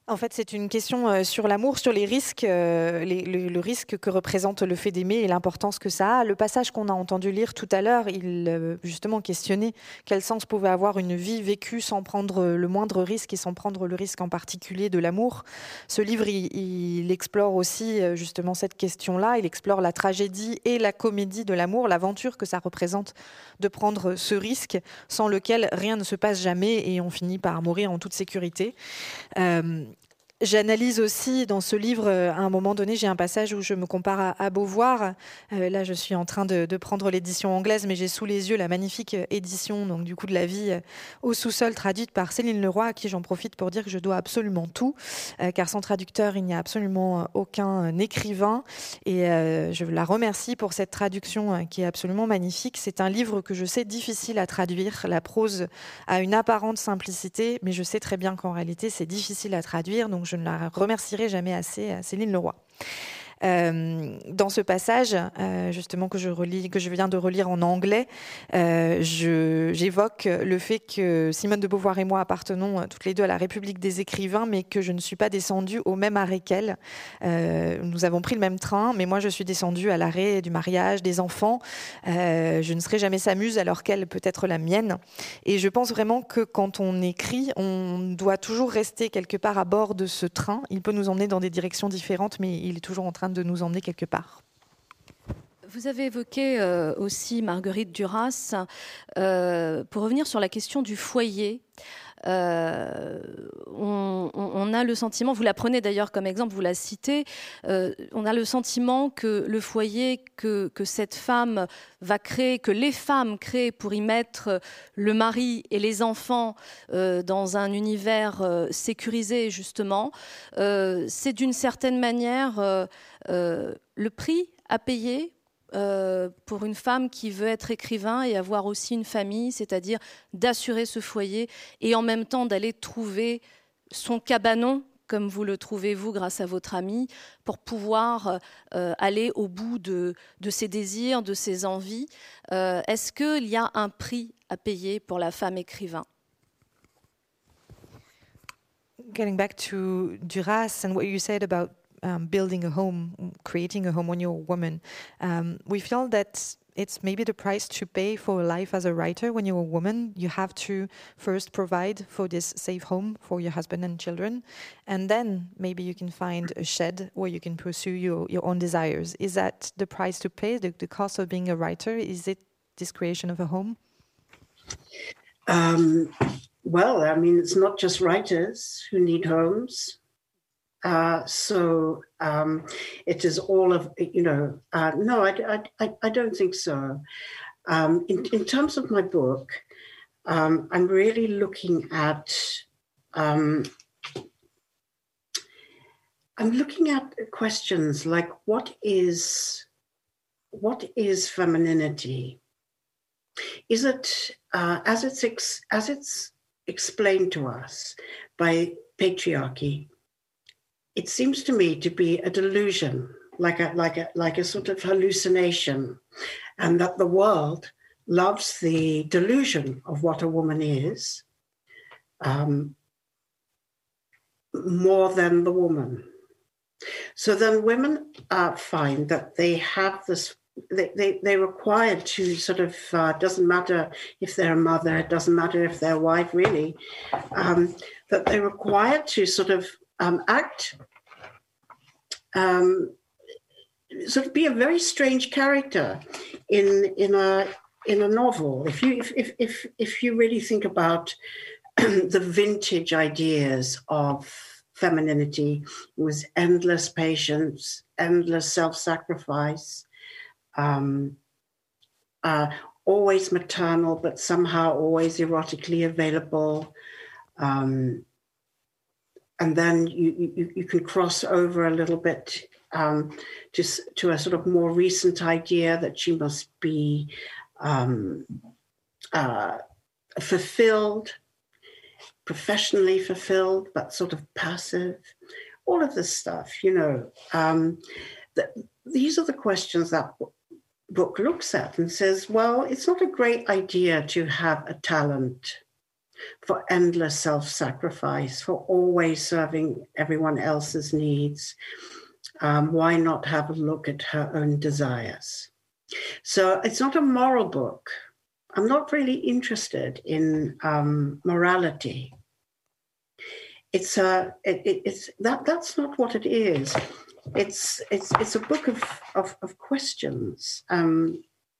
En fait, c'est une question euh, sur l'amour, sur les risques, euh, les, le, le risque que représente le fait d'aimer et l'importance que ça a. Le passage qu'on a entendu lire tout à l'heure, il euh, justement questionnait quel sens pouvait avoir une vie vécue sans prendre le moindre risque et sans prendre le risque en particulier de l'amour. Ce livre, il, il explore aussi euh, justement cette question-là. Il explore la tragédie et la comédie de l'amour, l'aventure que ça représente de prendre ce risque sans lequel rien ne se passe jamais et on finit par mourir en toute sécurité. Euh, J'analyse aussi dans ce livre, à un moment donné, j'ai un passage où je me compare à, à Beauvoir. Euh, là, je suis en train de, de prendre l'édition anglaise, mais j'ai sous les yeux la magnifique édition donc, du coup, de la vie euh, au sous-sol, traduite par Céline Leroy, à qui j'en profite pour dire que je dois absolument tout, euh, car sans traducteur, il n'y a absolument aucun écrivain. Et euh, je la remercie pour cette traduction euh, qui est absolument magnifique. C'est un livre que je sais difficile à traduire. La prose a une apparente simplicité, mais je sais très bien qu'en réalité, c'est difficile à traduire. Donc, je ne la remercierai jamais assez à Céline Leroy. Euh, dans ce passage, euh, justement que je relis, que je viens de relire en anglais, euh, je, j'évoque le fait que Simone de Beauvoir et moi appartenons toutes les deux à la République des écrivains, mais que je ne suis pas descendue au même arrêt qu'elle. Euh, nous avons pris le même train, mais moi je suis descendue à l'arrêt du mariage, des enfants. Euh, je ne serai jamais sa muse, alors qu'elle peut être la mienne. Et je pense vraiment que quand on écrit, on doit toujours rester quelque part à bord de ce train. Il peut nous emmener dans des directions différentes, mais il est toujours en train de nous emmener quelque part. Vous avez évoqué euh, aussi Marguerite Duras. Euh, pour revenir sur la question du foyer, euh, on, on a le sentiment, vous la prenez d'ailleurs comme exemple, vous la citez, euh, on a le sentiment que le foyer que, que cette femme va créer, que les femmes créent pour y mettre le mari et les enfants euh, dans un univers euh, sécurisé justement, euh, c'est d'une certaine manière euh, euh, le prix à payer Euh, pour une femme qui veut être écrivain et avoir aussi une famille, c'est-à-dire d'assurer ce foyer et en même temps d'aller trouver son cabanon, comme vous le trouvez vous grâce à votre ami, pour pouvoir euh, aller au bout de, de ses désirs, de ses envies. Euh, est-ce qu'il y a un prix à payer pour la femme écrivain? Getting back to Duras and what you said about Um, building a home, creating a home when you're a woman. Um, we feel that it's maybe the price to pay for life as a writer. When you're a woman, you have to first provide for this safe home for your husband and children. And then maybe you can find a shed where you can pursue your, your own desires. Is that the price to pay, the, the cost of being a writer? Is it this creation of a home? Um, well, I mean, it's not just writers who need homes. Uh, so um, it is all of, you know, uh, no, I, I, I don't think so. Um, in, in terms of my book, um, I'm really looking at, um, I'm looking at questions like what is, what is femininity? Is it, uh, as it's ex- as it's explained to us by patriarchy, it seems to me to be a delusion, like a like a like a sort of hallucination, and that the world loves the delusion of what a woman is um, more than the woman. So then women uh, find that they have this. They, they, they're required to sort of, uh, doesn't matter if they're a mother, it doesn't matter if they're a wife, really, um, that they're required to sort of um, act, um, sort of be a very strange character in in a in a novel. If you if if if, if you really think about the vintage ideas of femininity, it was endless patience, endless self-sacrifice. Um, uh, always maternal, but somehow always erotically available. Um, and then you, you, you can cross over a little bit um, to, to a sort of more recent idea that she must be um, uh, fulfilled, professionally fulfilled, but sort of passive. All of this stuff, you know. Um, the, these are the questions that book looks at and says, well, it's not a great idea to have a talent for endless self-sacrifice, for always serving everyone else's needs. Um, why not have a look at her own desires? So it's not a moral book. I'm not really interested in um, morality. It's a, it, it, it's that. That's not what it is. It's it's it's a book of of, of questions. Um,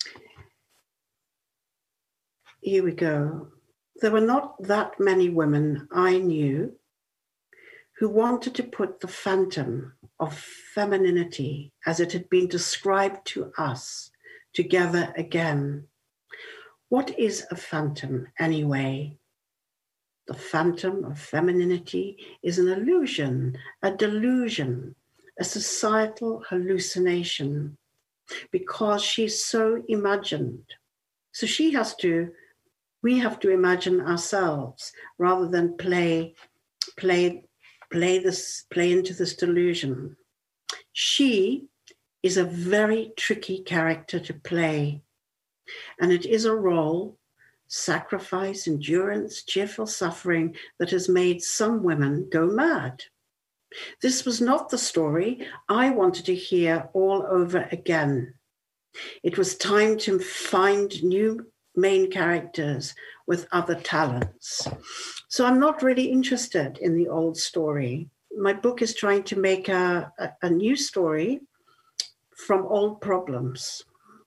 here we go. There were not that many women I knew who wanted to put the phantom of femininity, as it had been described to us, together again. What is a phantom, anyway? The phantom of femininity is an illusion, a delusion, a societal hallucination, because she's so imagined. So she has to, we have to imagine ourselves rather than play, play, play this, play into this delusion. She is a very tricky character to play, and it is a role, sacrifice, endurance, cheerful suffering, that has made some women go mad. This was not the story I wanted to hear all over again. It was time to find new main characters with other talents. So I'm not really interested in the old story. My book is trying to make a, a, a new story from old problems.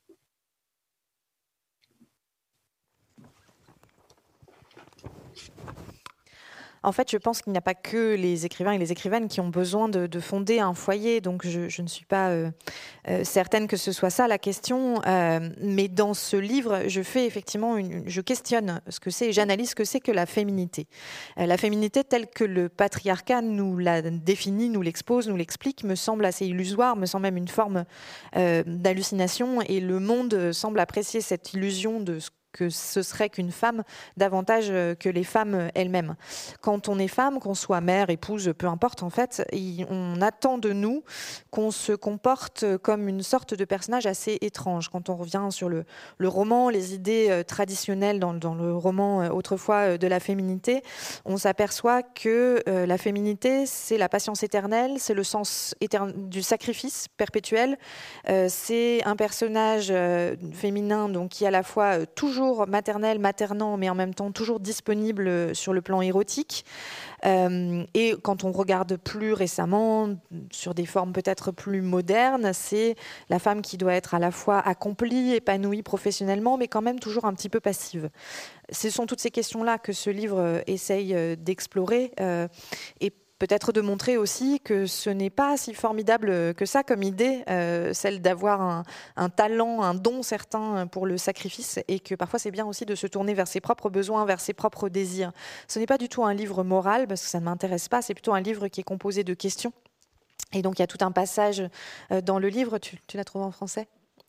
En fait, je pense qu'il n'y a pas que les écrivains et les écrivaines qui ont besoin de, de fonder un foyer, donc je, je ne suis pas euh, euh, certaine que ce soit ça la question, euh, mais dans ce livre, je fais effectivement, une, je questionne ce que c'est et j'analyse ce que c'est que la féminité. Euh, la féminité telle que le patriarcat nous la définit, nous l'expose, nous l'explique, me semble assez illusoire, me semble même une forme euh, d'hallucination, et le monde semble apprécier cette illusion de ce que ce serait qu'une femme davantage que les femmes elles-mêmes. Quand on est femme, qu'on soit mère, épouse, peu importe en fait, on attend de nous qu'on se comporte comme une sorte de personnage assez étrange. Quand on revient sur le, le roman, les idées traditionnelles dans, dans le roman autrefois de la féminité, on s'aperçoit que euh, la féminité, c'est la patience éternelle, c'est le sens éterne, du sacrifice perpétuel, euh, c'est un personnage euh, féminin donc, qui à la fois euh, toujours maternel, maternant, mais en même temps toujours disponible sur le plan érotique. Euh, et quand on regarde plus récemment, sur des formes peut-être plus modernes, c'est la femme qui doit être à la fois accomplie, épanouie professionnellement, mais quand même toujours un petit peu passive. Ce sont toutes ces questions-là que ce livre essaye d'explorer euh, et peut-être de montrer aussi que ce n'est pas si formidable que ça comme idée, euh, celle d'avoir un, un talent, un don certain pour le sacrifice, et que parfois c'est bien aussi de se tourner vers ses propres besoins, vers ses propres désirs. Ce n'est pas du tout un livre moral, parce que ça ne m'intéresse pas, c'est plutôt un livre qui est composé de questions. Et donc il y a tout un passage dans le livre, tu, tu l'as trouvé en français ?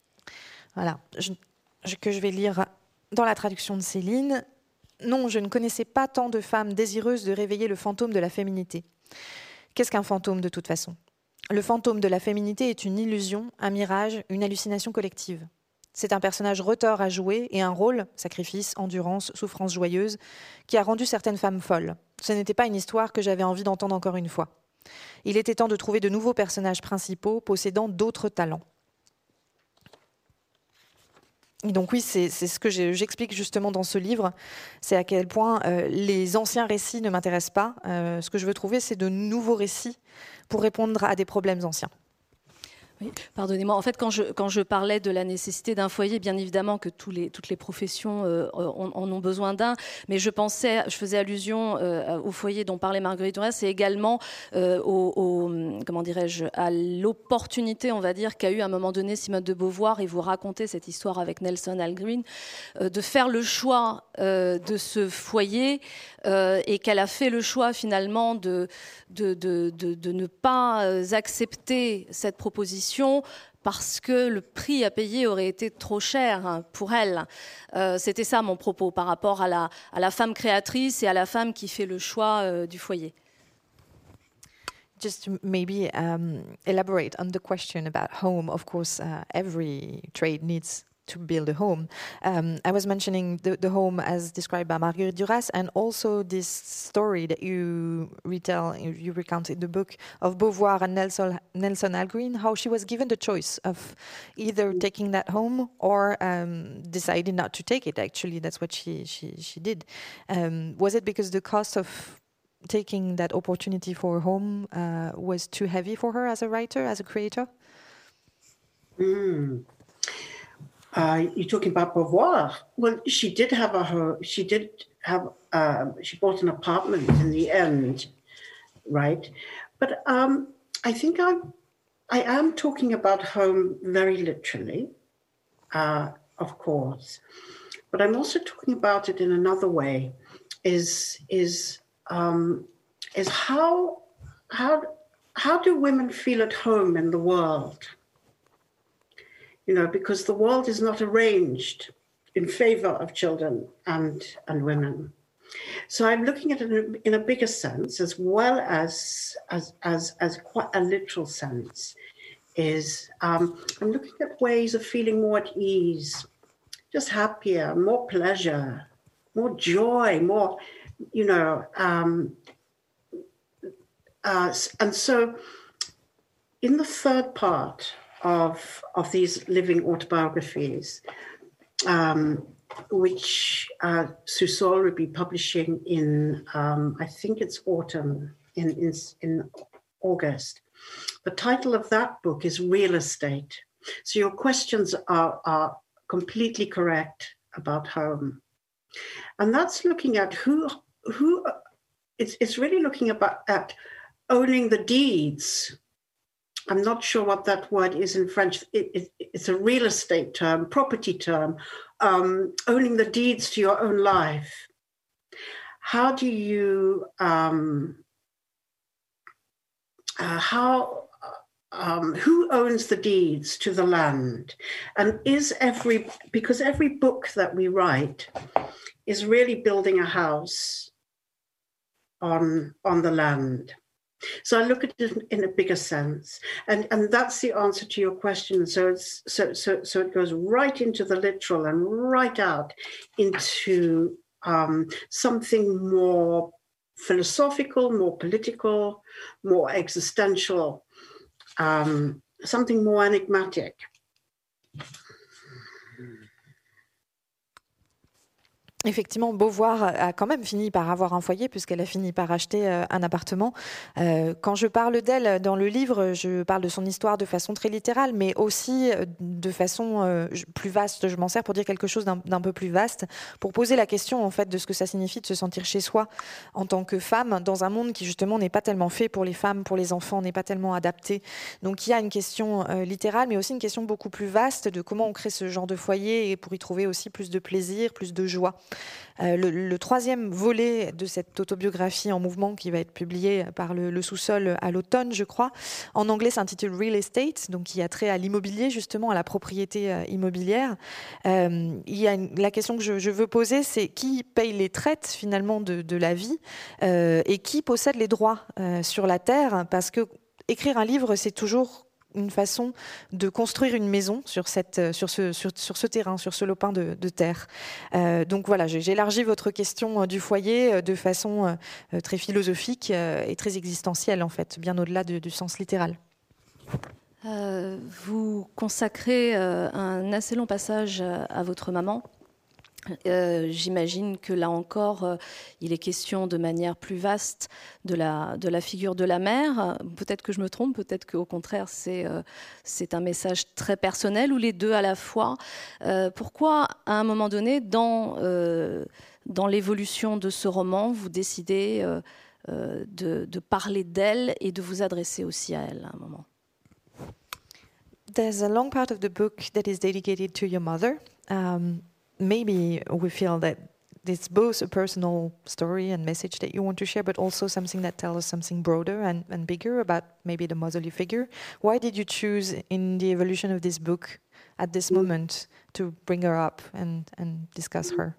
Voilà, je, je, que je vais lire dans la traduction de Céline. Non, je ne connaissais pas tant de femmes désireuses de réveiller le fantôme de la féminité. Qu'est-ce qu'un fantôme de toute façon ? Le fantôme de la féminité est une illusion, un mirage, une hallucination collective. C'est un personnage retors à jouer et un rôle, sacrifice, endurance, souffrance joyeuse, qui a rendu certaines femmes folles. Ce n'était pas une histoire que j'avais envie d'entendre encore une fois. Il était temps de trouver de nouveaux personnages principaux possédant d'autres talents. Et donc oui, c'est, c'est ce que j'explique justement dans ce livre, c'est à quel point euh, les anciens récits ne m'intéressent pas. Euh, ce que je veux trouver, c'est de nouveaux récits pour répondre à des problèmes anciens. Oui, pardonnez-moi. En fait, quand je, quand je parlais de la nécessité d'un foyer, bien évidemment que tous les, toutes les professions euh, en, en ont besoin d'un, mais je pensais, je faisais allusion euh, au foyer dont parlait Marguerite Duras, et également euh, au, au, comment dirais-je, à l'opportunité, on va dire, qu'a eu à un moment donné Simone de Beauvoir, et vous racontez cette histoire avec Nelson Algren, euh, de faire le choix euh, de ce foyer, euh, et qu'elle a fait le choix finalement de, de, de, de, de ne pas accepter cette proposition parce que le prix à payer aurait été trop cher pour elle. Euh, c'était ça mon propos par rapport à la, à la femme créatrice et à la femme qui fait le choix euh, du foyer. Just to maybe um, elaborate on the question about home. Of course, uh, every trade needs to build a home. Um, I was mentioning the, the home as described by Marguerite Duras, and also this story that you retell, you, you recount in the book of Beauvoir and Nelson, Nelson Algren, how she was given the choice of either taking that home or um, deciding not to take it. Actually, that's what she she, she did. Um, was it because the cost of taking that opportunity for a home uh, was too heavy for her as a writer, as a creator? Mm. Uh, you're talking about Beauvoir. Well, she did have a home. She did have. Uh, she bought an apartment in the end, right? But um, I think I'm. I am talking about home very literally, uh, of course, but I'm also talking about it in another way. Is is um, is how how how do women feel at home in the world? You know, because the world is not arranged in favor of children and, and women. So I'm looking at it in a, in a bigger sense, as well as, as, as, as quite a literal sense, is um, I'm looking at ways of feeling more at ease, just happier, more pleasure, more joy, more, you know, um, uh, and so in the third part of of these living autobiographies, um, which uh, Susol will be publishing in, um, I think it's autumn, in, in, in August. The title of that book is Real Estate. So your questions are, are completely correct about home. And that's looking at who, who it's, it's really looking about at owning the deeds. I'm not sure what that word is in French. It, it, it's a real estate term, property term, um, owning the deeds to your own life. How do you, um, uh, how, um, who owns the deeds to the land? And is every, because every book that we write is really building a house on, on the land. So I look at it in a bigger sense, and and that's the answer to your question. So it's so so so it goes right into the literal and right out into um, something more philosophical, more political, more existential, um, something more enigmatic. Effectivement, Beauvoir a quand même fini par avoir un foyer puisqu'elle a fini par acheter un appartement. Euh, quand je parle d'elle dans le livre, je parle de son histoire de façon très littérale, mais aussi de façon euh, plus vaste. Je m'en sers pour dire quelque chose d'un, d'un peu plus vaste, pour poser la question en fait de ce que ça signifie de se sentir chez soi en tant que femme dans un monde qui justement n'est pas tellement fait pour les femmes, pour les enfants, n'est pas tellement adapté. Donc il y a une question euh, littérale, mais aussi une question beaucoup plus vaste de comment on crée ce genre de foyer et pour y trouver aussi plus de plaisir, plus de joie. Euh, le, le troisième volet de cette autobiographie en mouvement qui va être publié par le, le sous-sol à l'automne, je crois, en anglais s'intitule Real Estate, donc qui a trait à l'immobilier, justement à la propriété euh, immobilière. Euh, il y a une, la question que je, je veux poser, c'est qui paye les traites finalement de, de la vie euh, et qui possède les droits euh, sur la terre, parce que écrire un livre, c'est toujours une façon de construire une maison sur, cette, sur, ce, sur, sur ce terrain, sur ce lopin de, de terre. Euh, donc voilà, j'ai, j'ai élargi votre question du foyer de façon euh, très philosophique euh, et très existentielle, en fait, bien au-delà de, du sens littéral. Euh, vous consacrez euh, un assez long passage à, à votre maman. Euh, j'imagine que là encore, euh, il est question de manière plus vaste de la, de la figure de la mère. Peut-être que je me trompe, peut-être qu'au contraire, c'est, euh, c'est un message très personnel ou les deux à la fois. Euh, pourquoi, à un moment donné, dans, euh, dans l'évolution de ce roman, vous décidez euh, euh, de, de parler d'elle et de vous adresser aussi à elle à un moment? There's a long part of the book that is dedicated to your mother. Um, Maybe we feel that it's both a personal story and message that you want to share, but also something that tells us something broader and, and bigger about maybe the motherly figure. Why did you choose in the evolution of this book at this moment to bring her up and, and discuss her?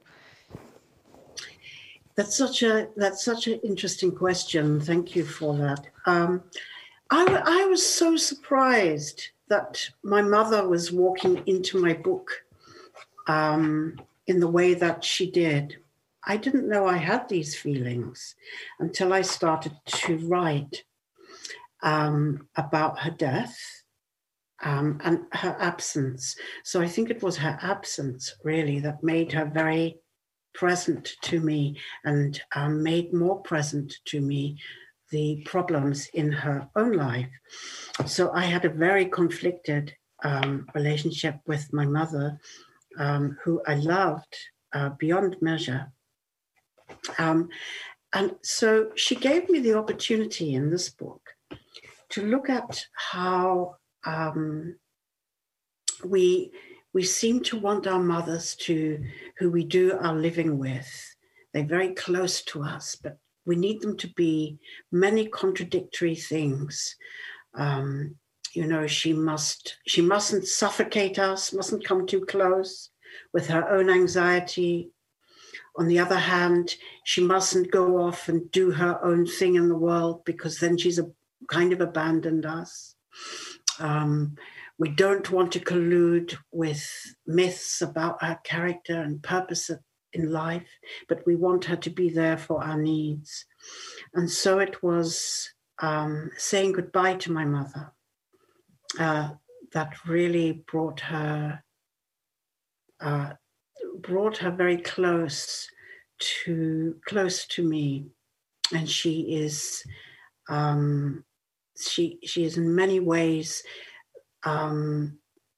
That's such a that's such an interesting question. Thank you for that. Um, I, I was so surprised that my mother was walking into my book um, in the way that she did. I didn't know I had these feelings until I started to write um, about her death um, and her absence. So I think it was her absence really that made her very present to me and um, made more present to me the problems in her own life. So I had a very conflicted um, relationship with my mother, um, who I loved uh, beyond measure. Um, and so she gave me the opportunity in this book to look at how um, we we seem to want our mothers to, who we do our living with, they're very close to us, but we need them to be many contradictory things. Um, you know, she must she mustn't suffocate us, mustn't come too close with her own anxiety. On the other hand, she mustn't go off and do her own thing in the world because then she's a, kind of abandoned us. Um, we don't want to collude with myths about her character and purpose in life, but we want her to be there for our needs. And so it was um, saying goodbye to my mother uh, that really brought her uh, brought her very close to close to me, and she is um, she she is in many ways. Um,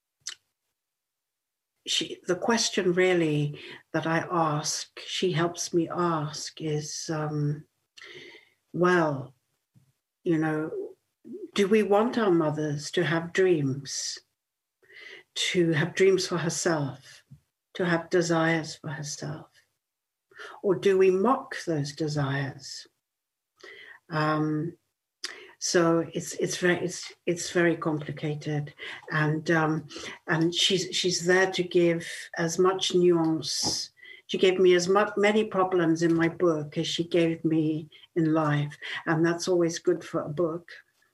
she the question really that I ask, she helps me ask, is um, well, you know, do we want our mothers to have dreams, to have dreams for herself, to have desires for herself? Or do we mock those desires? Um, so it's it's very it's it's very complicated, and um, and she's she's there to give as much nuance. She gave me as much many problems in my book as she gave me in life, and that's always good for a book.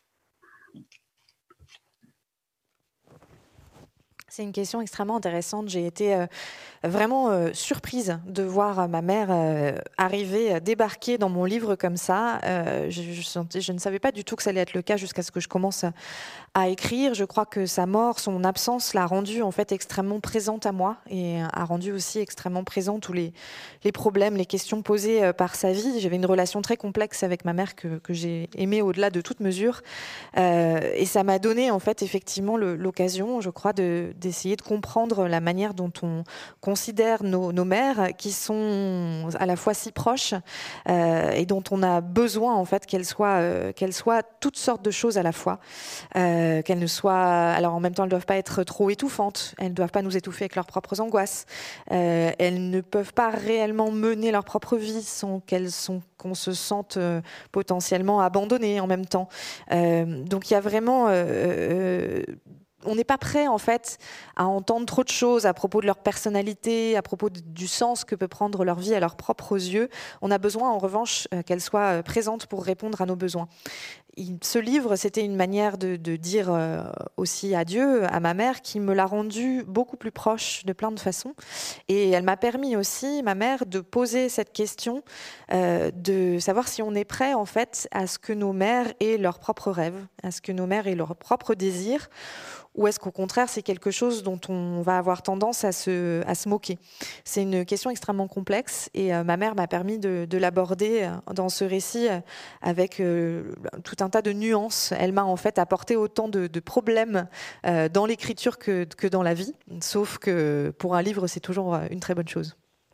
C'est une question extrêmement intéressante. J'ai été euh, vraiment euh, surprise de voir ma mère euh, arriver, euh, débarquer dans mon livre comme ça. Euh, je, je, sentais, je ne savais pas du tout que ça allait être le cas jusqu'à ce que je commence à, à écrire. Je crois que sa mort, son absence l'a rendue en fait extrêmement présente à moi et a rendu aussi extrêmement présent tous les, les problèmes, les questions posées euh, par sa vie. J'avais une relation très complexe avec ma mère que, que j'ai aimée au-delà de toute mesure. Euh, et ça m'a donné en fait effectivement le, l'occasion, je crois, de d'essayer de comprendre la manière dont on considère nos, nos mères, qui sont à la fois si proches euh, et dont on a besoin en fait qu'elles soient, euh, qu'elles soient toutes sortes de choses à la fois, euh, qu'elles ne soient, alors en même temps elles ne doivent pas être trop étouffantes, elles ne doivent pas nous étouffer avec leurs propres angoisses, euh, elles ne peuvent pas réellement mener leur propre vie sans qu'elles sont qu'on se sente euh, potentiellement abandonné en même temps. Euh, donc il y a vraiment euh, euh, on n'est pas prêt en fait à entendre trop de choses à propos de leur personnalité, à propos de, du sens que peut prendre leur vie à leurs propres yeux. On a besoin en revanche euh, qu'elles soient présentes pour répondre à nos besoins. Il, ce livre, c'était une manière de, de dire euh, aussi adieu à ma mère, qui me l'a rendue beaucoup plus proche de plein de façons. Et elle m'a permis aussi, ma mère, de poser cette question, euh, de savoir si on est prêt en fait à ce que nos mères aient leurs propres rêves, à ce que nos mères aient leurs propres désirs, ou est-ce qu'au contraire, c'est quelque chose dont on va avoir tendance à se, à se moquer? C'est une question extrêmement complexe et euh, ma mère m'a permis de, de l'aborder euh, dans ce récit euh, avec euh, tout un tas de nuances. Elle m'a en fait apporté autant de, de problèmes euh, dans l'écriture que, que dans la vie, sauf que pour un livre, c'est toujours une très bonne chose.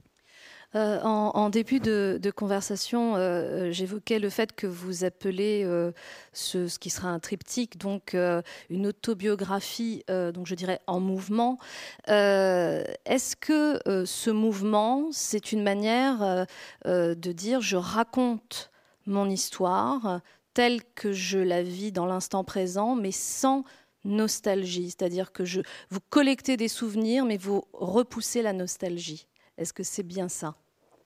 Euh, en, en début de, de conversation, euh, j'évoquais le fait que vous appelez euh, ce, ce qui sera un triptyque, donc euh, une autobiographie, euh, donc je dirais en mouvement. Euh, est-ce que euh, ce mouvement, c'est une manière euh, euh, de dire je raconte mon histoire telle que je la vis dans l'instant présent, mais sans nostalgie, c'est-à-dire que je, vous collectez des souvenirs, mais vous repoussez la nostalgie. Est-ce que c'est bien ça?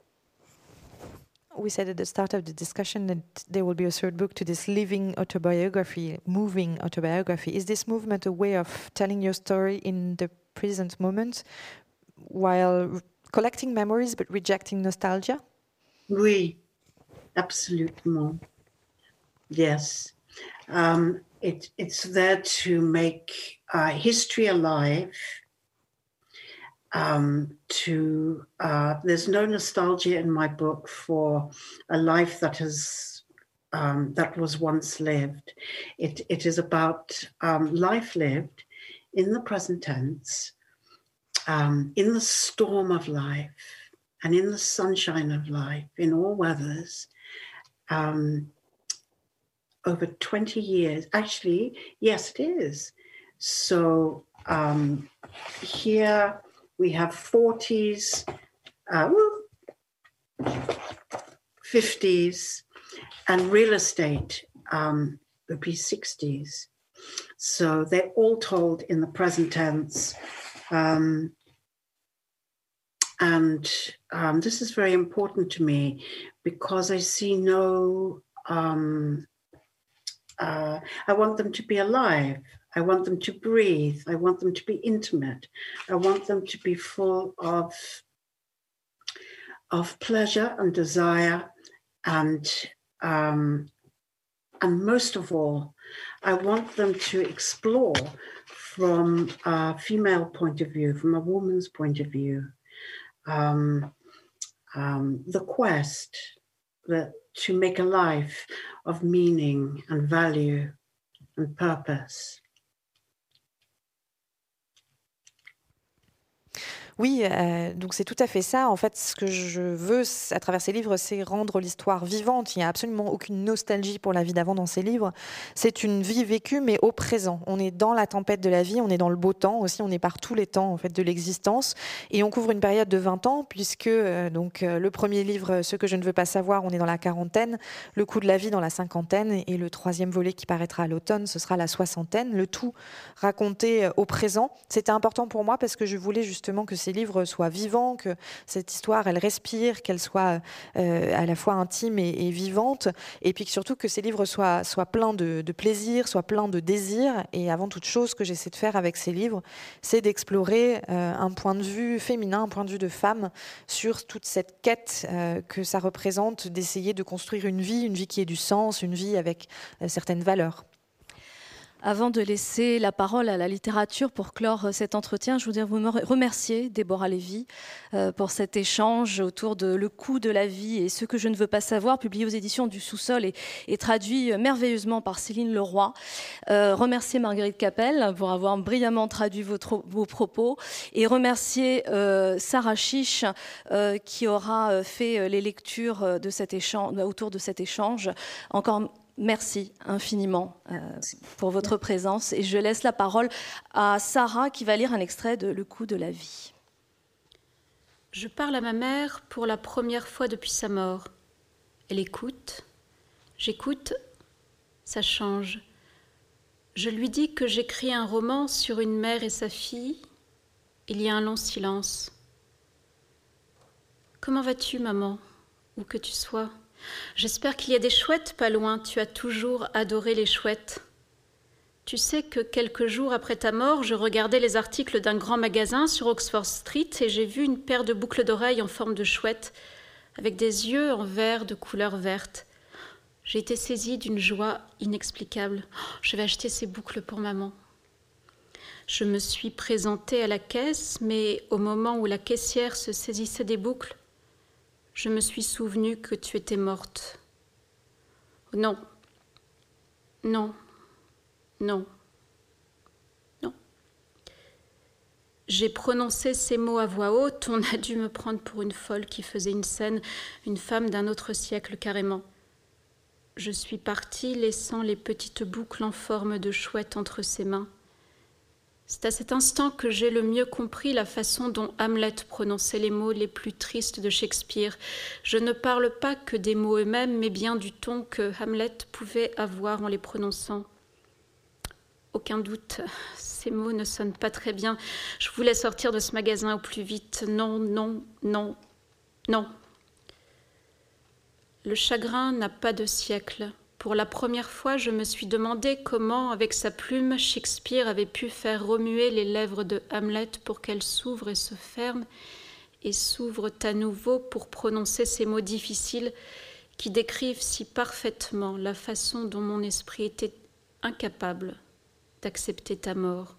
We said at the start of the discussion that there will be a third book to this living autobiography, moving autobiography. Is this movement a way of telling your story in the present moment while collecting memories but rejecting nostalgia? Oui, absolument. Yes. Um, it, it's there to make uh, history alive. Um, to uh, there's no nostalgia in my book for a life that has um, that was once lived. It, it is about um, life lived in the present tense, um, in the storm of life, and in the sunshine of life, in all weathers. Um, over twenty years, actually, yes, it is. So um, here we have forties, uh, fifties, and real estate um, would be sixties. So they're all told in the present tense. Um, and um, this is very important to me because I see no, um, uh, I want them to be alive. I want them to breathe. I want them to be intimate. I want them to be full of, of pleasure and desire. And, um, and most of all, I want them to explore from a female point of view, from a woman's point of view, um, um, the quest that, to make a life of meaning and value and purpose. Oui, euh, donc c'est tout à fait ça. En fait, ce que je veux à travers ces livres, c'est rendre l'histoire vivante. Il n'y a absolument aucune nostalgie pour la vie d'avant dans ces livres. C'est une vie vécue, mais au présent. On est dans la tempête de la vie, on est dans le beau temps aussi, on est par tous les temps en fait, de l'existence. Et on couvre une période de vingt ans, puisque euh, donc, euh, le premier livre, Ce que je ne veux pas savoir, on est dans la quarantaine, Le coup de la vie dans la cinquantaine, et le troisième volet qui paraîtra à l'automne, ce sera la soixantaine. Le tout raconté euh, au présent. C'était important pour moi parce que je voulais justement que ces livres soient vivants, que cette histoire, elle respire, qu'elle soit euh, à la fois intime et, et vivante, et puis que surtout que ces livres soient, soient pleins de, de plaisir, soient pleins de désir. Et avant toute chose, ce que j'essaie de faire avec ces livres, c'est d'explorer euh, un point de vue féminin, un point de vue de femme sur toute cette quête euh, que ça représente, d'essayer de construire une vie, une vie qui ait du sens, une vie avec euh, certaines valeurs. Avant de laisser la parole à la littérature pour clore cet entretien, je voudrais vous remercier, Déborah Lévy, euh, pour cet échange autour de Le coup de la vie et Ce que je ne veux pas savoir, publié aux éditions du Sous-sol et, et traduit merveilleusement par Céline Leroy. Euh, remercier Marguerite Capel pour avoir brillamment traduit votre, vos propos et remercier euh, Sarah Chiche euh, qui aura fait les lectures de cet échange, autour de cet échange. Encore merci infiniment euh, pour votre présence et je laisse la parole à Sarah qui va lire un extrait de Le coup de la vie. Je parle à ma mère pour la première fois depuis sa mort. Elle écoute, j'écoute, ça change. Je lui dis que j'écris un roman sur une mère et sa fille. Il y a un long silence. Comment vas-tu, maman, où que tu sois ? J'espère qu'il y a des chouettes pas loin, tu as toujours adoré les chouettes. Tu sais que quelques jours après ta mort, je regardais les articles d'un grand magasin sur Oxford Street et j'ai vu une paire de boucles d'oreilles en forme de chouette, avec des yeux en verre de couleur verte. J'ai été saisie d'une joie inexplicable. Oh, je vais acheter ces boucles pour maman. Je me suis présentée à la caisse, mais au moment où la caissière se saisissait des boucles, je me suis souvenu que tu étais morte. Non, non, non, non. J'ai prononcé ces mots à voix haute. On a dû me prendre pour une folle qui faisait une scène, une femme d'un autre siècle carrément. Je suis partie, laissant les petites boucles en forme de chouette entre ses mains. C'est à cet instant que j'ai le mieux compris la façon dont Hamlet prononçait les mots les plus tristes de Shakespeare. Je ne parle pas que des mots eux-mêmes, mais bien du ton que Hamlet pouvait avoir en les prononçant. Aucun doute, ces mots ne sonnent pas très bien. Je voulais sortir de ce magasin au plus vite. Non, non, non, non. Le chagrin n'a pas de siècle. Pour la première fois, je me suis demandé comment, avec sa plume, Shakespeare avait pu faire remuer les lèvres de Hamlet pour qu'elles s'ouvrent et se ferment, et s'ouvrent à nouveau pour prononcer ces mots difficiles qui décrivent si parfaitement la façon dont mon esprit était incapable d'accepter ta mort.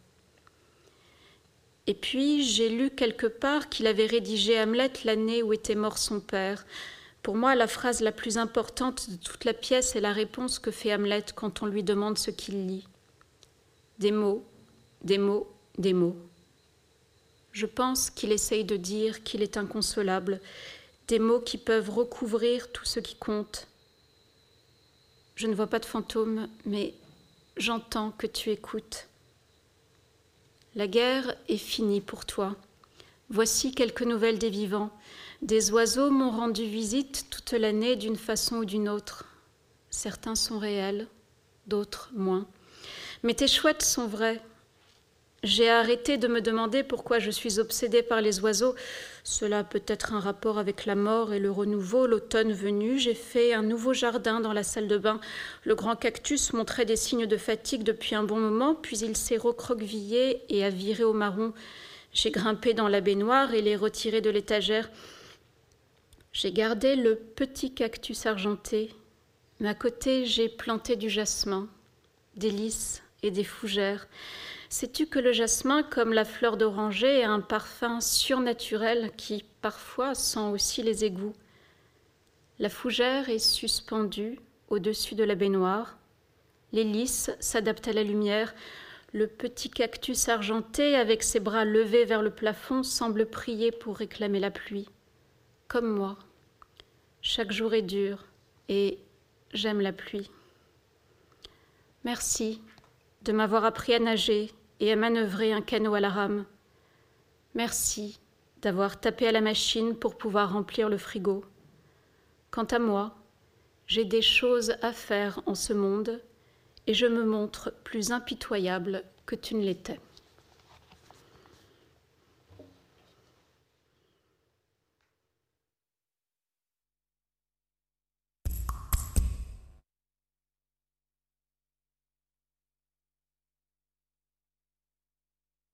Et puis, j'ai lu quelque part qu'il avait rédigé Hamlet l'année où était mort son père. Pour moi, la phrase la plus importante de toute la pièce est la réponse que fait Hamlet quand on lui demande ce qu'il lit. Des mots, des mots, des mots. Je pense qu'il essaye de dire qu'il est inconsolable, des mots qui peuvent recouvrir tout ce qui compte. Je ne vois pas de fantôme, mais j'entends que tu écoutes. La guerre est finie pour toi. Voici quelques nouvelles des vivants. Des oiseaux m'ont rendu visite toute l'année d'une façon ou d'une autre. Certains sont réels, d'autres moins. Mais tes chouettes sont vraies. J'ai arrêté de me demander pourquoi je suis obsédée par les oiseaux. Cela a peut-être un rapport avec la mort et le renouveau. L'automne venu, j'ai fait un nouveau jardin dans la salle de bain. Le grand cactus montrait des signes de fatigue depuis un bon moment, puis il s'est recroquevillé et a viré au marron. J'ai grimpé dans la baignoire et l'ai retiré de l'étagère. J'ai gardé le petit cactus argenté, mais à côté, j'ai planté du jasmin, des lys et des fougères. Sais-tu que le jasmin, comme la fleur d'oranger, a un parfum surnaturel qui, parfois, sent aussi les égouts. La fougère est suspendue au-dessus de la baignoire. Les lys s'adaptent à la lumière. Le petit cactus argenté, avec ses bras levés vers le plafond, semble prier pour réclamer la pluie. Comme moi. Chaque jour est dur et j'aime la pluie. Merci de m'avoir appris à nager et à manœuvrer un canot à la rame. Merci d'avoir tapé à la machine pour pouvoir remplir le frigo. Quant à moi, j'ai des choses à faire en ce monde et je me montre plus impitoyable que tu ne l'étais.